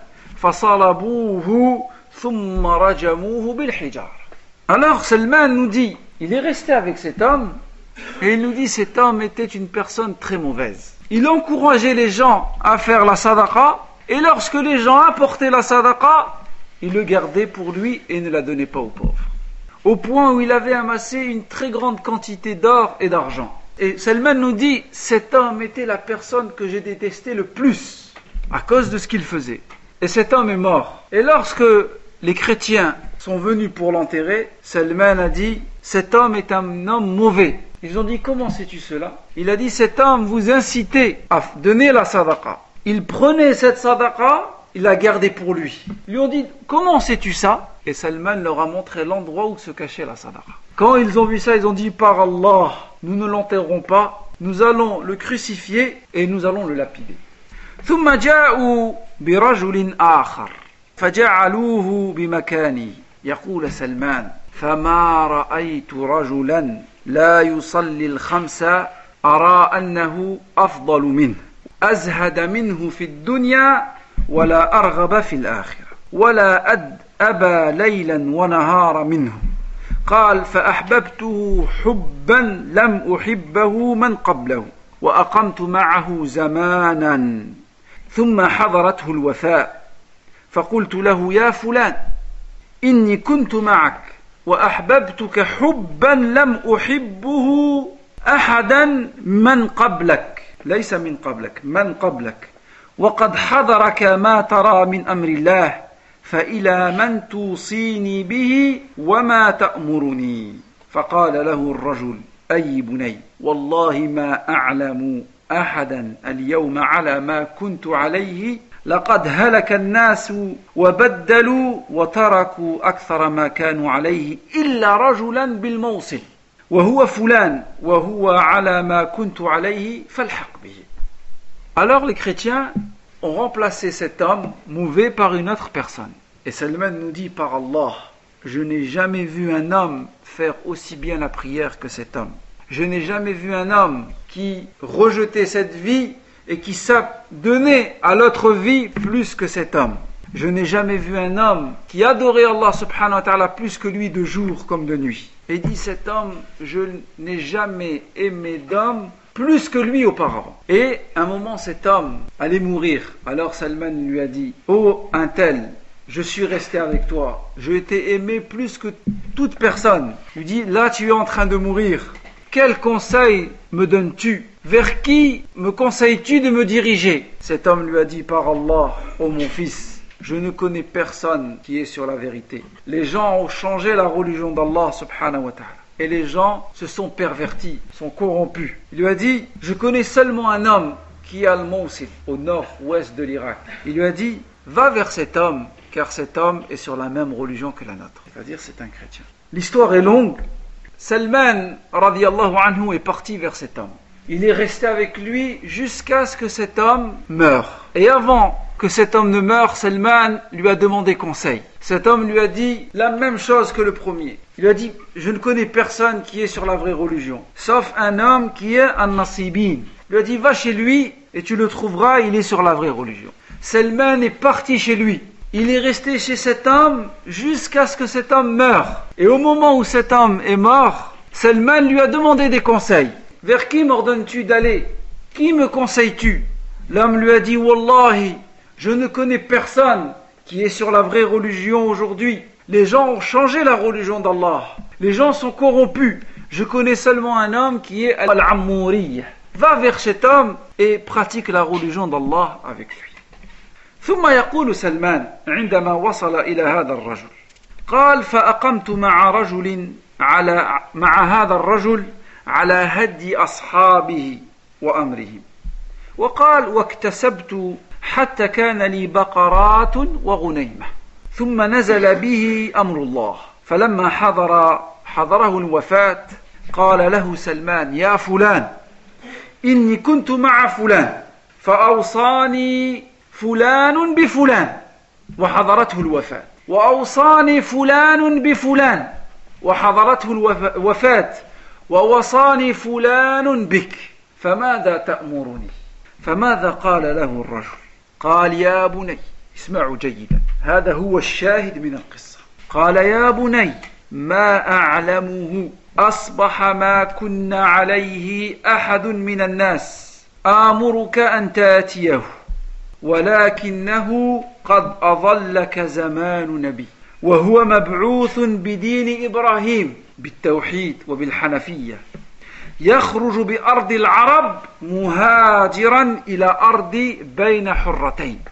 فصلبوه ثم رجموه بالحجار. Alors Salman nous dit, il est resté avec cet homme et il nous dit cet homme était une personne très mauvaise. Il encourageait les gens à faire la sadaqa et lorsque les gens apportaient la sadaqa, il le gardait pour lui et ne la donnait pas aux pauvres. Au point où il avait amassé une très grande quantité d'or et d'argent. Et Salman nous dit, cet homme était la personne que j'ai détesté le plus à cause de ce qu'il faisait. Et cet homme est mort. Et lorsque les chrétiens sont venus pour l'enterrer, Salman a dit, cet homme est un homme mauvais. Ils ont dit, comment sais-tu cela? Il a dit, cet homme vous incitait à donner la sadaqa. Il prenait cette sadaqa, il l'a gardée pour lui. Ils lui ont dit, comment sais-tu ça? Et Salman leur a montré l'endroit où se cachait la sadaqa. Quand ils ont vu ça, ils ont dit, par Allah, nous ne l'enterrons pas, nous allons le crucifier et nous allons le lapider. ثم جاءوا برجل آخر فجعلوه بمكانه يقول سلمان فما رأيت رجلا لا يصلي الخمس أرى أنه أفضل منه أزهد منه في الدنيا ولا أرغب في الآخرة ولا أد أبى ليلا ونهار منه قال فأحببته حبا لم أحبه من قبله وأقمت معه زمانا ثم حضرته الوفاة فقلت له يا فلان إني كنت معك وأحببتك حبا لم أحبه أحدا من قبلك ليس من قبلك من قبلك وقد حضرك ما ترى من أمر الله فإلى من توصيني به وما تأمرني فقال له الرجل أي بني والله ما أعلم أحدا اليوم على ما كنت عليه لقد هلك الناس وبدلوا وتركوا أكثر ما كانوا عليه إلا رجلا بالموصل وهو فلان وهو على ما كنت عليه فالحق به. Alors les chrétiens ont remplacé cet homme mauvais par une autre personne. Et Salman nous dit par Allah, je n'ai jamais vu un homme faire aussi bien la prière que cet homme. Je n'ai jamais vu un homme qui rejetait cette vie et qui s'adonnait à l'autre vie plus que cet homme. Je n'ai jamais vu un homme qui adorait Allah subhanahu wa ta'ala plus que lui de jour comme de nuit. Et dit cet homme, je n'ai jamais aimé d'homme plus que lui auparavant. Et à un moment cet homme allait mourir. Alors Salman lui a dit, oh un tel, je suis resté avec toi, je t'ai aimé plus que toute personne. Il lui dit, là tu es en train de mourir. Quel conseil me donnes-tu? Vers qui me conseilles-tu de me diriger? Cet homme lui a dit, par Allah, ô mon fils, je ne connais personne qui est sur la vérité. Les gens ont changé la religion d'Allah subhanahu wa ta'ala. Et les gens se sont pervertis, sont corrompus. Il lui a dit, je connais seulement un homme qui est à Al-Mawsil, au nord-ouest de l'Irak. Il lui a dit, va vers cet homme, car cet homme est sur la même religion que la nôtre. C'est-à-dire, c'est un chrétien. L'histoire est longue. Salman, radiyallahu anhu, est parti vers cet homme. Il est resté avec lui jusqu'à ce que cet homme meure. Et avant que cet homme ne meure, Salman lui a demandé conseil. Cet homme lui a dit la même chose que le premier. Il lui a dit, je ne connais personne qui est sur la vraie religion, sauf un homme qui est un nasibin. Il lui a dit, va chez lui et tu le trouveras, il est sur la vraie religion. Salman est parti chez lui. il est resté chez cet homme jusqu'à ce que cet homme meure. Et au moment où cet homme est mort, Salman lui a demandé des conseils. Vers qui m'ordonnes-tu d'aller? Qui me conseilles-tu? L'homme lui a dit, Wallahi, je ne connais personne qui est sur la vraie religion aujourd'hui. Les gens ont changé la religion d'Allah. Les gens sont corrompus. Je connais seulement un homme qui est Al-Amouriyya. Va vers cet homme et pratique la religion d'Allah avec lui. ثم يقول سلمان عندما وصل إلى هذا الرجل قال فأقمت مع رجل على مع هذا الرجل على هدي أصحابه وأمرهم وقال واكتسبت حتى كان لي بقرات وغنيمة ثم نزل به أمر الله فلما حضر حضره الوفاة قال له سلمان يا فلان إني كنت مع فلان فأوصاني فلان بفلان وحضرته الوفاة وأوصاني فلان بفلان وحضرته الوفاة ووصاني فلان بك فماذا تأمرني؟ فماذا قال له الرجل؟ قال يا بني اسمعوا جيدا هذا هو الشاهد من القصة قال يا بني ما أعلمه أصبح ما كنا عليه أحد من الناس آمرك أن تأتيه ولكنه قد أظلك زمان نبي وهو مبعوث بدين إبراهيم بالتوحيد وبالحنفية يخرج بأرض العرب مهاجرا إلى أرض بين حرتين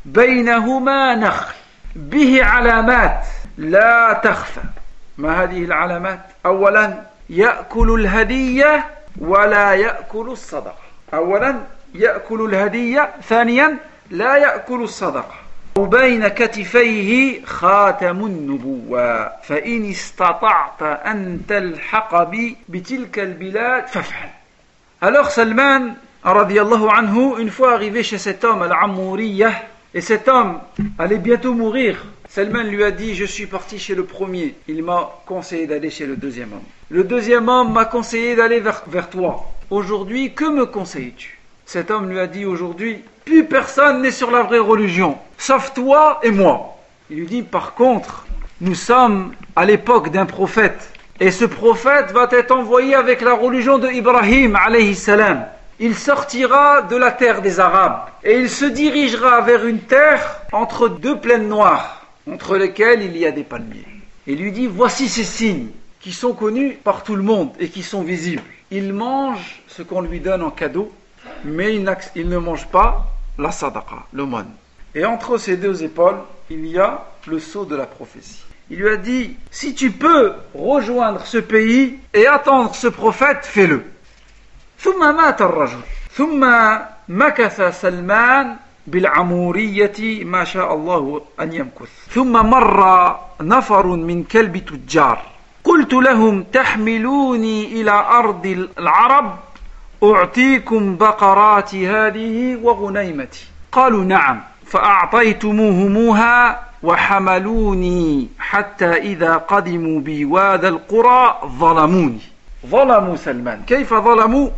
بينهما نخل به علامات لا تخفى. ما هذه العلامات؟ أولا يأكل الهدية ولا يأكل الصدقة. أولا يأكل الهدية، ثانيا لا يأكل الصدقة. وبين كتفيه خاتم النبوة فإن استطعت أن تلحق بي بتلك البلاد فافعل. Alors Salman radiallahu anhu, une fois arrivé chez cet homme Al-Amouriyya, et cet homme allait bientôt mourir, Salman lui a dit, je suis parti chez le premier, il m'a conseillé d'aller chez le deuxième homme. Le deuxième homme m'a conseillé d'aller vers, vers toi. Aujourd'hui, que me conseilles-tu? Cet homme lui a dit, aujourd'hui, plus personne n'est sur la vraie religion, sauf toi et moi. Il lui dit, par contre, nous sommes à l'époque d'un prophète, et ce prophète va être envoyé avec la religion de Ibrahim, alayhi salam. Il sortira de la terre des Arabes, et il se dirigera vers une terre entre deux plaines noires, entre lesquelles il y a des palmiers. Et il lui dit, voici ces signes qui sont connus par tout le monde et qui sont visibles. Il mange ce qu'on lui donne en cadeau, mais il, il ne mange pas la sadaqa, l'aumône. Et entre ses deux épaules, il y a le sceau de la prophétie. Il lui a dit, si tu peux rejoindre ce pays et attendre ce prophète, fais-le. ثم مات الرجل ثم مكث سلمان بالعمورية ما شاء الله أن يمكث ثم مر نفر من كلب تجار قلت لهم تحملوني إلى أرض العرب أعطيكم بقراتي هذه وغنيمتي قالوا نعم فأعطيتموهموها وحملوني حتى إذا قدموا بواد القرى ظلموني. ظلموا سلمان. كيف ظلموا؟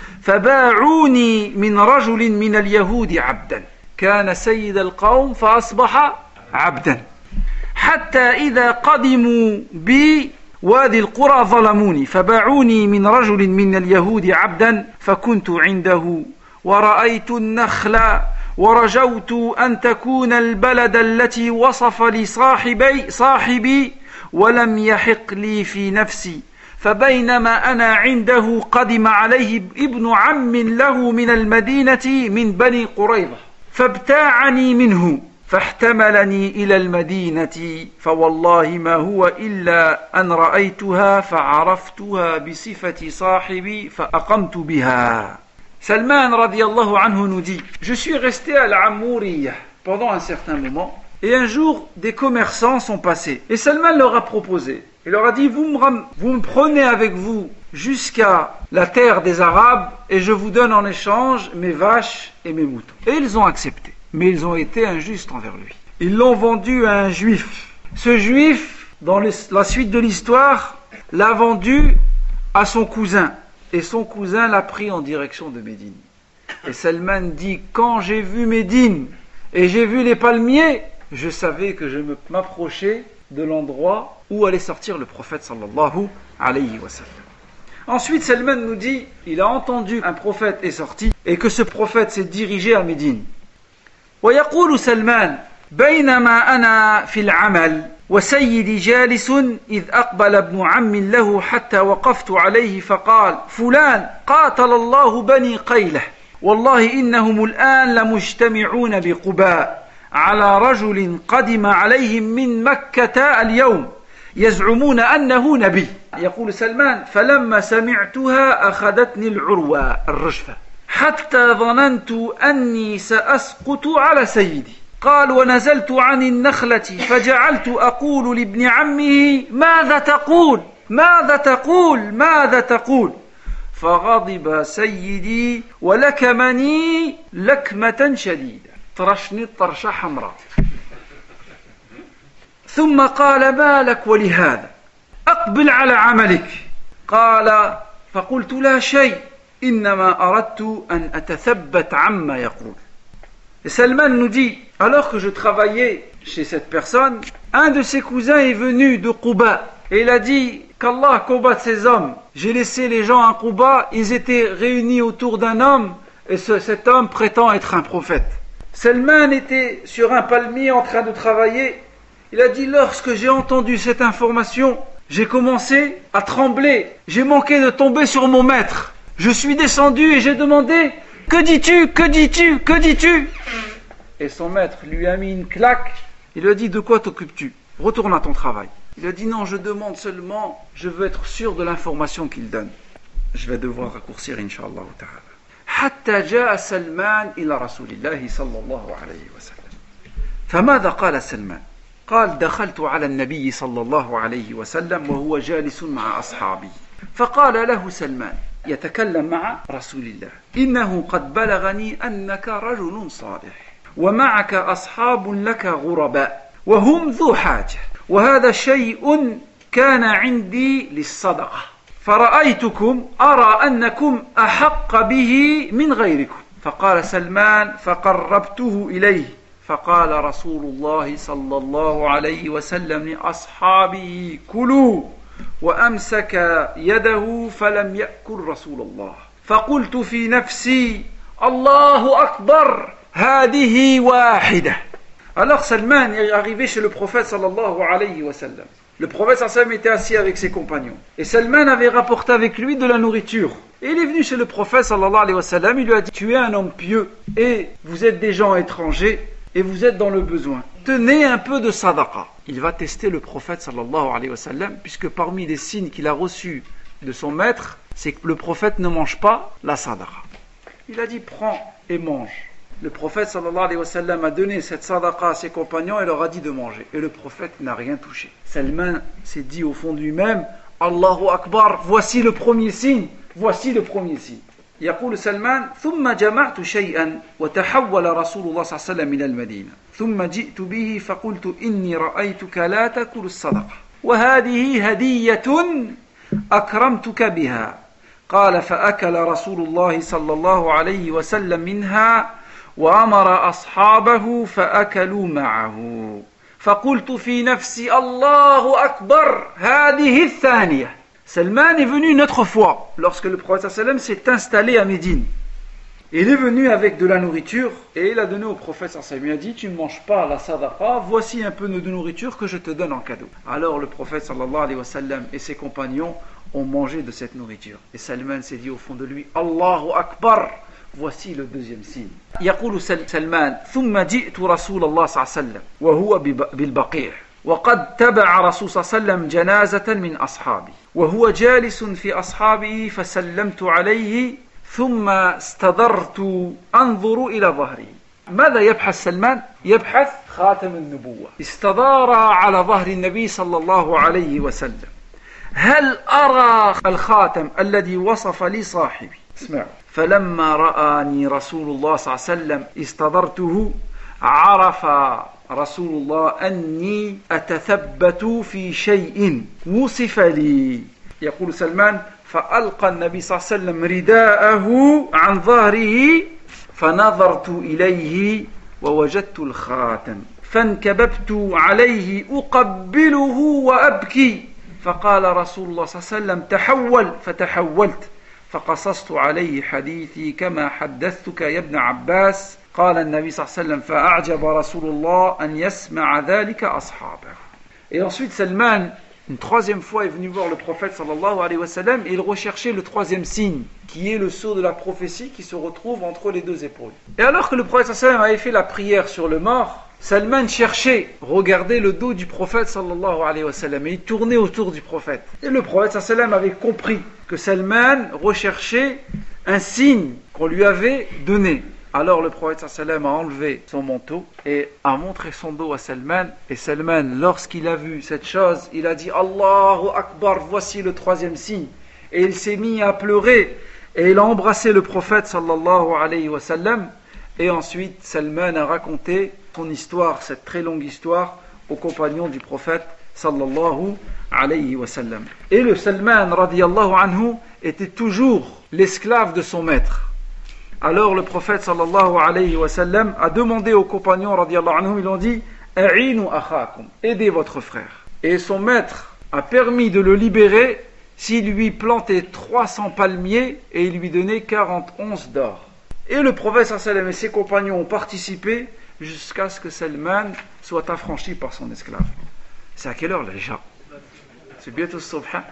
فباعوني من رجل من اليهود عبدا كان سيد القوم فأصبح عبدا حتى إذا قدموا بوادي القرى ظلموني فباعوني من رجل من اليهود عبدا فكنت عنده ورأيت النخل ورجوت أن تكون البلد التي وصف لي صاحبي صاحبي ولم يحق لي في نفسي فبينما أنا عنده قدم عليه ابن عم له من المدينة من بني قريظة فابتاعني منه فاحتملني إلى المدينة فوالله ما هو إلا أن رأيتها فعرفتها بصفة صاحبي فأقمت بها. Salman radiallahu anhu nous dit, je suis resté à l'Amouriyya pendant un certain moment et un jour des commerçants sont passés et Salman leur a proposé. Il leur a dit, vous me, ram- vous me prenez avec vous jusqu'à la terre des Arabes et je vous donne en échange mes vaches et mes moutons. Et ils ont accepté, mais ils ont été injustes envers lui. Ils l'ont vendu à un juif. Ce juif, dans les, la suite de l'histoire, l'a vendu à son cousin. Et son cousin l'a pris en direction de Médine. Et Salman dit, quand j'ai vu Médine et j'ai vu les palmiers, je savais que je m'approchais de l'endroit où allait sortir le prophète sallallahu alayhi wa sallam. Ensuite, Salman nous dit, il a entendu un prophète est sorti et que ce prophète s'est dirigé à Médine. ويقول سلمان بينما أنا في العمل وسيدي جالس إذ أقبل ابن عم له حتى وقفت عليه فقال فلان قاتل الله بني قيلة والله إنهم الآن لمجتمعون بقباء على رجل قدم عليهم من مكة اليوم يزعمون أنه نبي. يقول سلمان فلما سمعتها أخذتني العروة الرجفة حتى ظننت أني سأسقط على سيدي. قال ونزلت عن النخلة فجعلت أقول لابن عمه ماذا تقول ماذا تقول ماذا تقول فغضب سيدي ولكمني لكمة شديدة طرشني طرشة حمراء ثم قال ما لك ولهذا أقبل على عملك. قال فقلت لا شيء إنما أردت أن أتثبت عما يقول. Et Salman nous dit, alors que je travaillais chez cette personne, un de ses cousins est venu de Quba et il a dit qu'Allah combatte ces hommes. J'ai laissé les gens à Quba, ils étaient réunis autour d'un homme et ce, cet homme prétend être un prophète. Salman était sur un palmier en train de travailler. Il a dit, lorsque j'ai entendu cette information, j'ai commencé à trembler. J'ai manqué de tomber sur mon maître. Je suis descendu et j'ai demandé, que dis-tu, que dis-tu, que dis-tu? Et son maître lui a mis une claque. Il lui a dit, de quoi t'occupes-tu? Retourne à ton travail. Il a dit, non, je demande seulement, je veux être sûr de l'information qu'il donne. Je vais devoir raccourcir, Inch'Allah ta'ala. حتى جاء سلمان إلى رسول الله صلى الله عليه وسلم. فماذا قال سلمان؟ قال دخلت على النبي صلى الله عليه وسلم وهو جالس مع أصحابه فقال له سلمان يتكلم مع رسول الله إنه قد بلغني أنك رجل صالح ومعك أصحاب لك غرباء وهم ذو حاجة وهذا شيء كان عندي للصدقة فرأيتكم أرى أنكم أحق به من غيركم. فقال سلمان فقربته إليه فقال رسول الله صلى الله عليه وسلم لأصحابه كلوا وأمسك يده فلم يأكل رسول الله فقلت في نفسي الله أكبر هذه واحدة. Alors Salman est arrivé chez le prophète sallallahu alayhi wa sallam. Le prophète sallallahu alayhi wa sallam était assis avec ses compagnons et Salman avait rapporté avec lui de la nourriture. Et il est venu chez le prophète sallallahu alayhi wa sallam, il lui a dit, tu es un homme pieux et vous êtes des gens étrangers et vous êtes dans le besoin. Tenez un peu de sadaqa. Il va tester le prophète sallallahu alayhi wa sallam, puisque parmi les signes qu'il a reçus de son maître, c'est que le prophète ne mange pas la sadaqa. Il a dit, prends et mange. Le prophète sallallahu alayhi wa sallam a donné cette sadaqa à ses compagnons et leur a dit de manger. Et le prophète n'a rien touché. Salman s'est dit au fond de lui-même, Allahu Akbar, voici le premier signe, voici le premier signe. يقول سلمان ثم جمعت شيئا وتحول رسول الله صلى الله عليه وسلم إلى المدينة ثم جئت به فقلت إني رأيتك لا تأكل الصدقة وهذه هدية أكرمتك بها. قال فأكل رسول الله صلى الله عليه وسلم منها وأمر أصحابه فأكلوا معه فقلت في نفسي الله أكبر هذه الثانية. Salman est venu une autre fois, lorsque le prophète sallam s'est installé à Médine. Il est venu avec de la nourriture et il a donné au prophète sallam. Il a dit, tu ne manges pas la sadaqa, voici un peu de nourriture que je te donne en cadeau. Alors le prophète sallallahu alayhi wa sallam et ses compagnons ont mangé de cette nourriture. Et Salman s'est dit au fond de lui, Allahu Akbar, voici le deuxième signe. يقول سلمان ثم جئت رسول الله صلى الله عليه وسلم وهو بالبقيع وقد تبع رسول صلى الله عليه وسلم جنازة من أصحابه وهو جالس في أصحابه فسلمت عليه ثم استدرت أنظر إلى ظهره. ماذا يبحث سلمان؟ يبحث خاتم النبوة. استدار على ظهر النبي صلى الله عليه وسلم. هل أرى الخاتم الذي وصف لي صاحبي؟ اسمعوا. فلما رآني رسول الله صلى الله عليه وسلم استدرته عرف رسول الله أني أتثبت في شيء وصف لي. يقول سلمان فألقى النبي صلى الله عليه وسلم رداءه عن ظهره فنظرت إليه ووجدت الخاتم فانكببت عليه أقبله وأبكي فقال رسول الله صلى الله عليه وسلم تحول فتحولت فقصصت عليه حديثي كما حدثتك يا ابن عباس قال النبي صلى الله عليه وسلم فأعجب رسول الله أن يسمع ذلك أصحابه. Et ensuite Salman, une troisième fois, est venu voir le prophète sallallahu alayhi wa sallam et il recherchait le troisième signe, qui est le sceau de la prophétie qui se retrouve entre les deux épaules. Et alors que le prophète sallallahu alayhi wa sallam avait fait la prière sur le mort, Salman cherchait, regardait le dos du prophète sallallahu alayhi wa sallam et il tournait autour du prophète. Et le prophète sallallahu alayhi wa sallam avait compris que Salman recherchait un signe qu'on lui avait donné. Alors le prophète sallallahu alayhi wa sallam a enlevé son manteau et a montré son dos à Salman. Et Salman, lorsqu'il a vu cette chose, il a dit Allahu Akbar, voici le troisième signe. Et il s'est mis à pleurer et il a embrassé le prophète sallallahu alayhi wa sallam. Et ensuite Salman a raconté son histoire, cette très longue histoire, aux compagnons du prophète sallallahu alayhi wa sallam. Et le Salman radiyallahu anhu était toujours l'esclave de son maître. Alors le prophète sallallahu alayhi wa sallam a demandé aux compagnons radiyallahu anhum, ils ont dit A'inu akhakum, aidez votre frère. Et son maître a permis de le libérer s'il lui plantait trois cents palmiers et il lui donnait quarante onces d'or. Et le prophète sallallahu alayhi wa sallam et ses compagnons ont participé jusqu'à ce que Salman soit affranchi par son esclave. C'est à quelle heure là déjà? C'est bientôt le subha.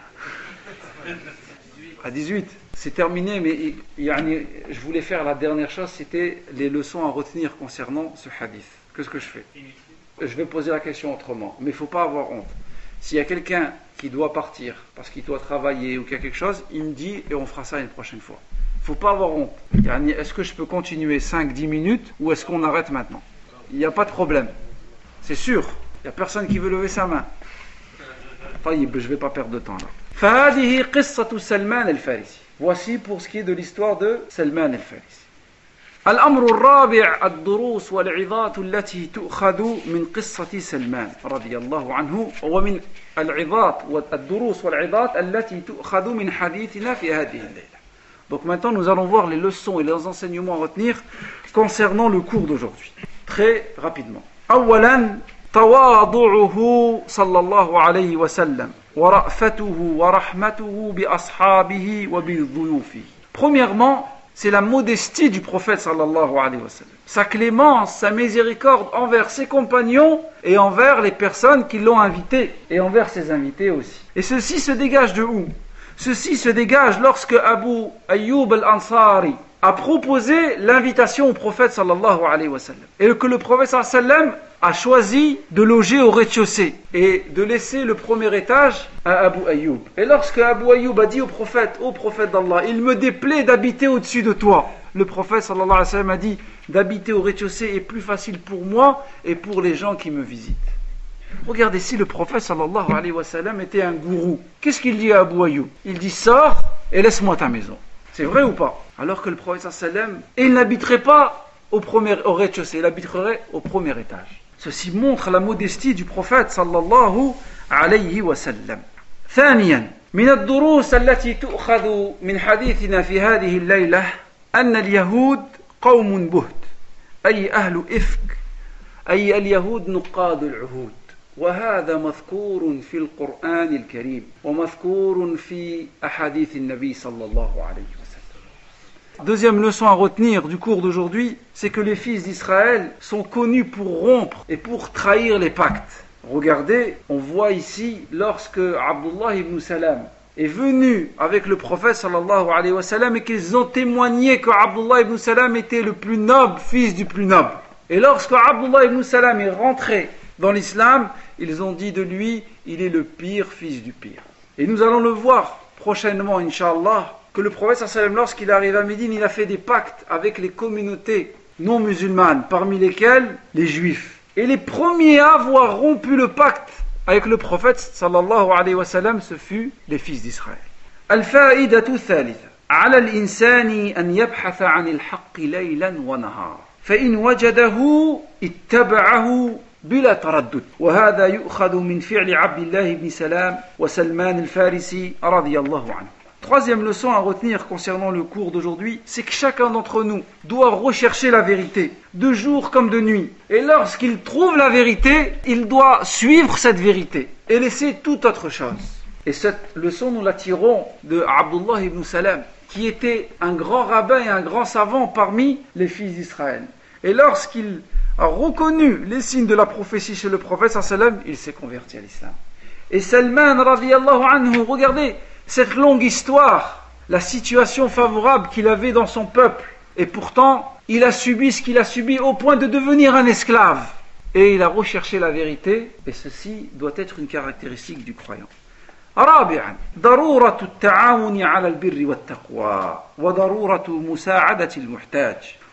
À dix-huit. C'est terminé, mais yani, je voulais faire la dernière chose, c'était les leçons à retenir concernant ce hadith. Qu'est-ce que je fais? Je vais poser la question autrement, mais il ne faut pas avoir honte. S'il y a quelqu'un qui doit partir parce qu'il doit travailler ou qu'il y a quelque chose, il me dit et on fera ça une prochaine fois. Il ne faut pas avoir honte. Yani, est-ce que je peux continuer cinq dix minutes ou est-ce qu'on arrête maintenant? Il n'y a pas de problème. C'est sûr. Il n'y a personne qui veut lever sa main. Enfin, je ne vais pas perdre de temps là. فهذه قصة سلمان الفارسي. Voici pour ce qui est de l'histoire de Salman al-Farisi. الأمر الرابع الدروس والعظات التي تؤخذ من قصة سلمان رضي الله عنه ومن العظات والدروس والعظات التي تؤخذ من حديثنا في هذه الليلة. Donc maintenant nous allons voir les leçons et les enseignements à retenir concernant le cours d'aujourd'hui. Très rapidement. أولا تواضعه صلى الله عليه وسلم ورأفته ورحمته بأصحابه وبضيوفه. Premièrement, c'est la modestie du prophète sallallahu alayhi wa sallam. Sa clémence, sa miséricorde envers ses compagnons et envers les personnes qui l'ont invité et envers ses invités aussi. Et ceci se dégage de où? Ceci se dégage lorsque Abu Ayyub al-Ansari a proposé l'invitation au prophète sallallahu alayhi wa sallam. Et que le prophète sallallahu alayhi wa sallam a choisi de loger au rez-de-chaussée et de laisser le premier étage à Abu Ayyub. Et lorsque Abu Ayyub a dit au prophète, ô prophète d'Allah, il me déplaît d'habiter au-dessus de toi. Le prophète sallallahu alayhi wa sallam a dit, d'habiter au rez-de-chaussée est plus facile pour moi et pour les gens qui me visitent. Regardez, si le prophète sallallahu alayhi wa sallam était un gourou, qu'est-ce qu'il dit à Abu Ayyub? Il dit, sors et laisse-moi ta maison. C'est vrai ou pas? Alors que le prophète sallallahu alayhi wa sallam, il n'habiterait pas au, premier, au rez-de-chaussée, il habiterait au premier étage. Ceci montre la modestie du prophète sallallahu alayhi wa sallam. ثانيا من الدروس التي تؤخذ من حديثنا في هذه الليلة أن اليهود قوم بهت أي أهل إفك أي اليهود نقاد العهود وهذا مذكور في القرآن الكريم ومذكور في أحاديث النبي صلى الله عليه وسلم. Deuxième leçon à retenir du cours d'aujourd'hui, c'est que les fils d'Israël sont connus pour rompre et pour trahir les pactes. Regardez, on voit ici, lorsque Abdullah ibn Salam est venu avec le prophète sallallahu alayhi wa sallam et qu'ils ont témoigné que Abdullah ibn Salam était le plus noble fils du plus noble. Et lorsque Abdullah ibn Salam est rentré dans l'islam, ils ont dit de lui, il est le pire fils du pire. Et nous allons le voir prochainement, Inch'Allah, que le prophète sallallahu alayhi wa sallam, lorsqu'il arrive à Médine, il a fait des pactes avec les communautés non musulmanes, parmi lesquelles les juifs. Et les premiers à avoir rompu le pacte avec le prophète sallallahu alayhi wa sallam, ce fut les fils d'Israël. الفائدة الثالثة على الإنسان أن يبحث عن الحق ليلا ونهارا فإن وجده اتبعه بلا تردد وهذا يؤخذ من فعل عبد الله بن سلام وسلمان الفارسي رضي الله عنه. Troisième leçon à retenir concernant le cours d'aujourd'hui, c'est que chacun d'entre nous doit rechercher la vérité, de jour comme de nuit. Et lorsqu'il trouve la vérité, il doit suivre cette vérité et laisser toute autre chose. Et cette leçon, nous la tirons de Abdullah ibn Salam, qui était un grand rabbin et un grand savant parmi les fils d'Israël. Et lorsqu'il a reconnu les signes de la prophétie chez le prophète sallam, il s'est converti à l'islam. Et Salman radiyallahu anhu, regardez cette longue histoire, la situation favorable qu'il avait dans son peuple. Et pourtant, il a subi ce qu'il a subi au point de devenir un esclave. Et il a recherché la vérité, et ceci doit être une caractéristique du croyant. رابعا ضرورة التعاون على البر والتقوى وضرورة مساعدة المحتاج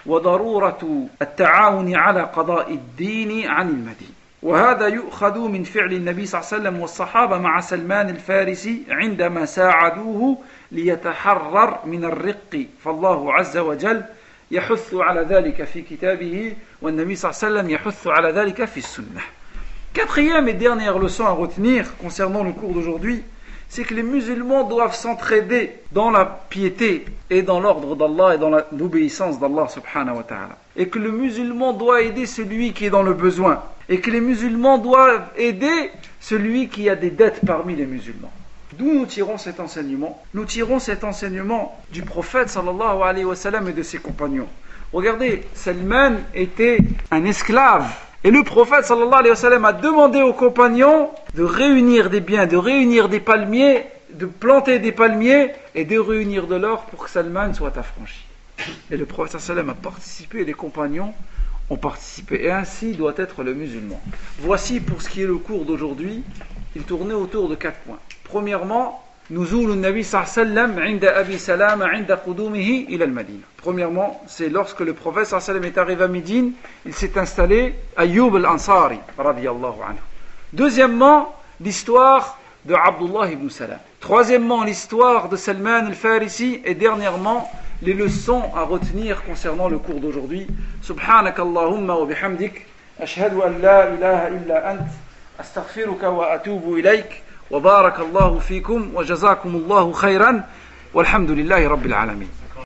وضرورة التعاون على قضاء الدين عن المدين وهذا يؤخذ من فعل النبي صلى الله عليه وسلم والصحابة مع سلمان الفارسي عندما ساعدوه ليتحرر من الرق فالله عز وجل يحث على ذلك في كتابه والنبي صلى الله عليه وسلم يحث على ذلك في السنة. Quatrième et dernière leçon à retenir concernant le cours d'aujourd'hui, c'est que les musulmans doivent s'entraider dans la piété et dans l'ordre d'Allah et dans l'obéissance d'Allah subhanahu wa ta'ala. Et que le musulman doit aider celui qui est dans le besoin. Et que les musulmans doivent aider celui qui a des dettes parmi les musulmans. D'où nous tirons cet enseignement? Nous tirons cet enseignement du prophète sallallahu alayhi wa sallam et de ses compagnons. Regardez, Salman était un esclave. Et le prophète sallallahu alayhi wa sallam a demandé aux compagnons de réunir des biens, de réunir des palmiers, de planter des palmiers et de réunir de l'or pour que Salman soit affranchi. Et le prophète sallallahu alayhi wa sallam a participé et les compagnons ont participé. Et ainsi doit être le musulman. Voici pour ce qui est le cours d'aujourd'hui, il tournait autour de quatre points. Premièrement, نزول النبي صلى الله عليه وسلم عند أبي سلامة عند قدومه إلى المدينة. Premièrement, c'est lorsque le prophète صلى الله عليه وسلم est arrivé à Médine, il s'est installé Ayyub al-Ansari radiyallahu anhu. Deuxièmement, l'histoire de Abdullah ibn Salam. Troisièmement, l'histoire de Salman al-Farisi. Et dernièrement, les leçons à retenir concernant le cours d'aujourd'hui. Subhanaka Allahumma wa bihamdik, ashhadu an la ilaha illa ant, astaghfiruka wa atubu ilayk. وبارك الله فيكم وجزاكم الله خيرا والحمد لله رب العالمين.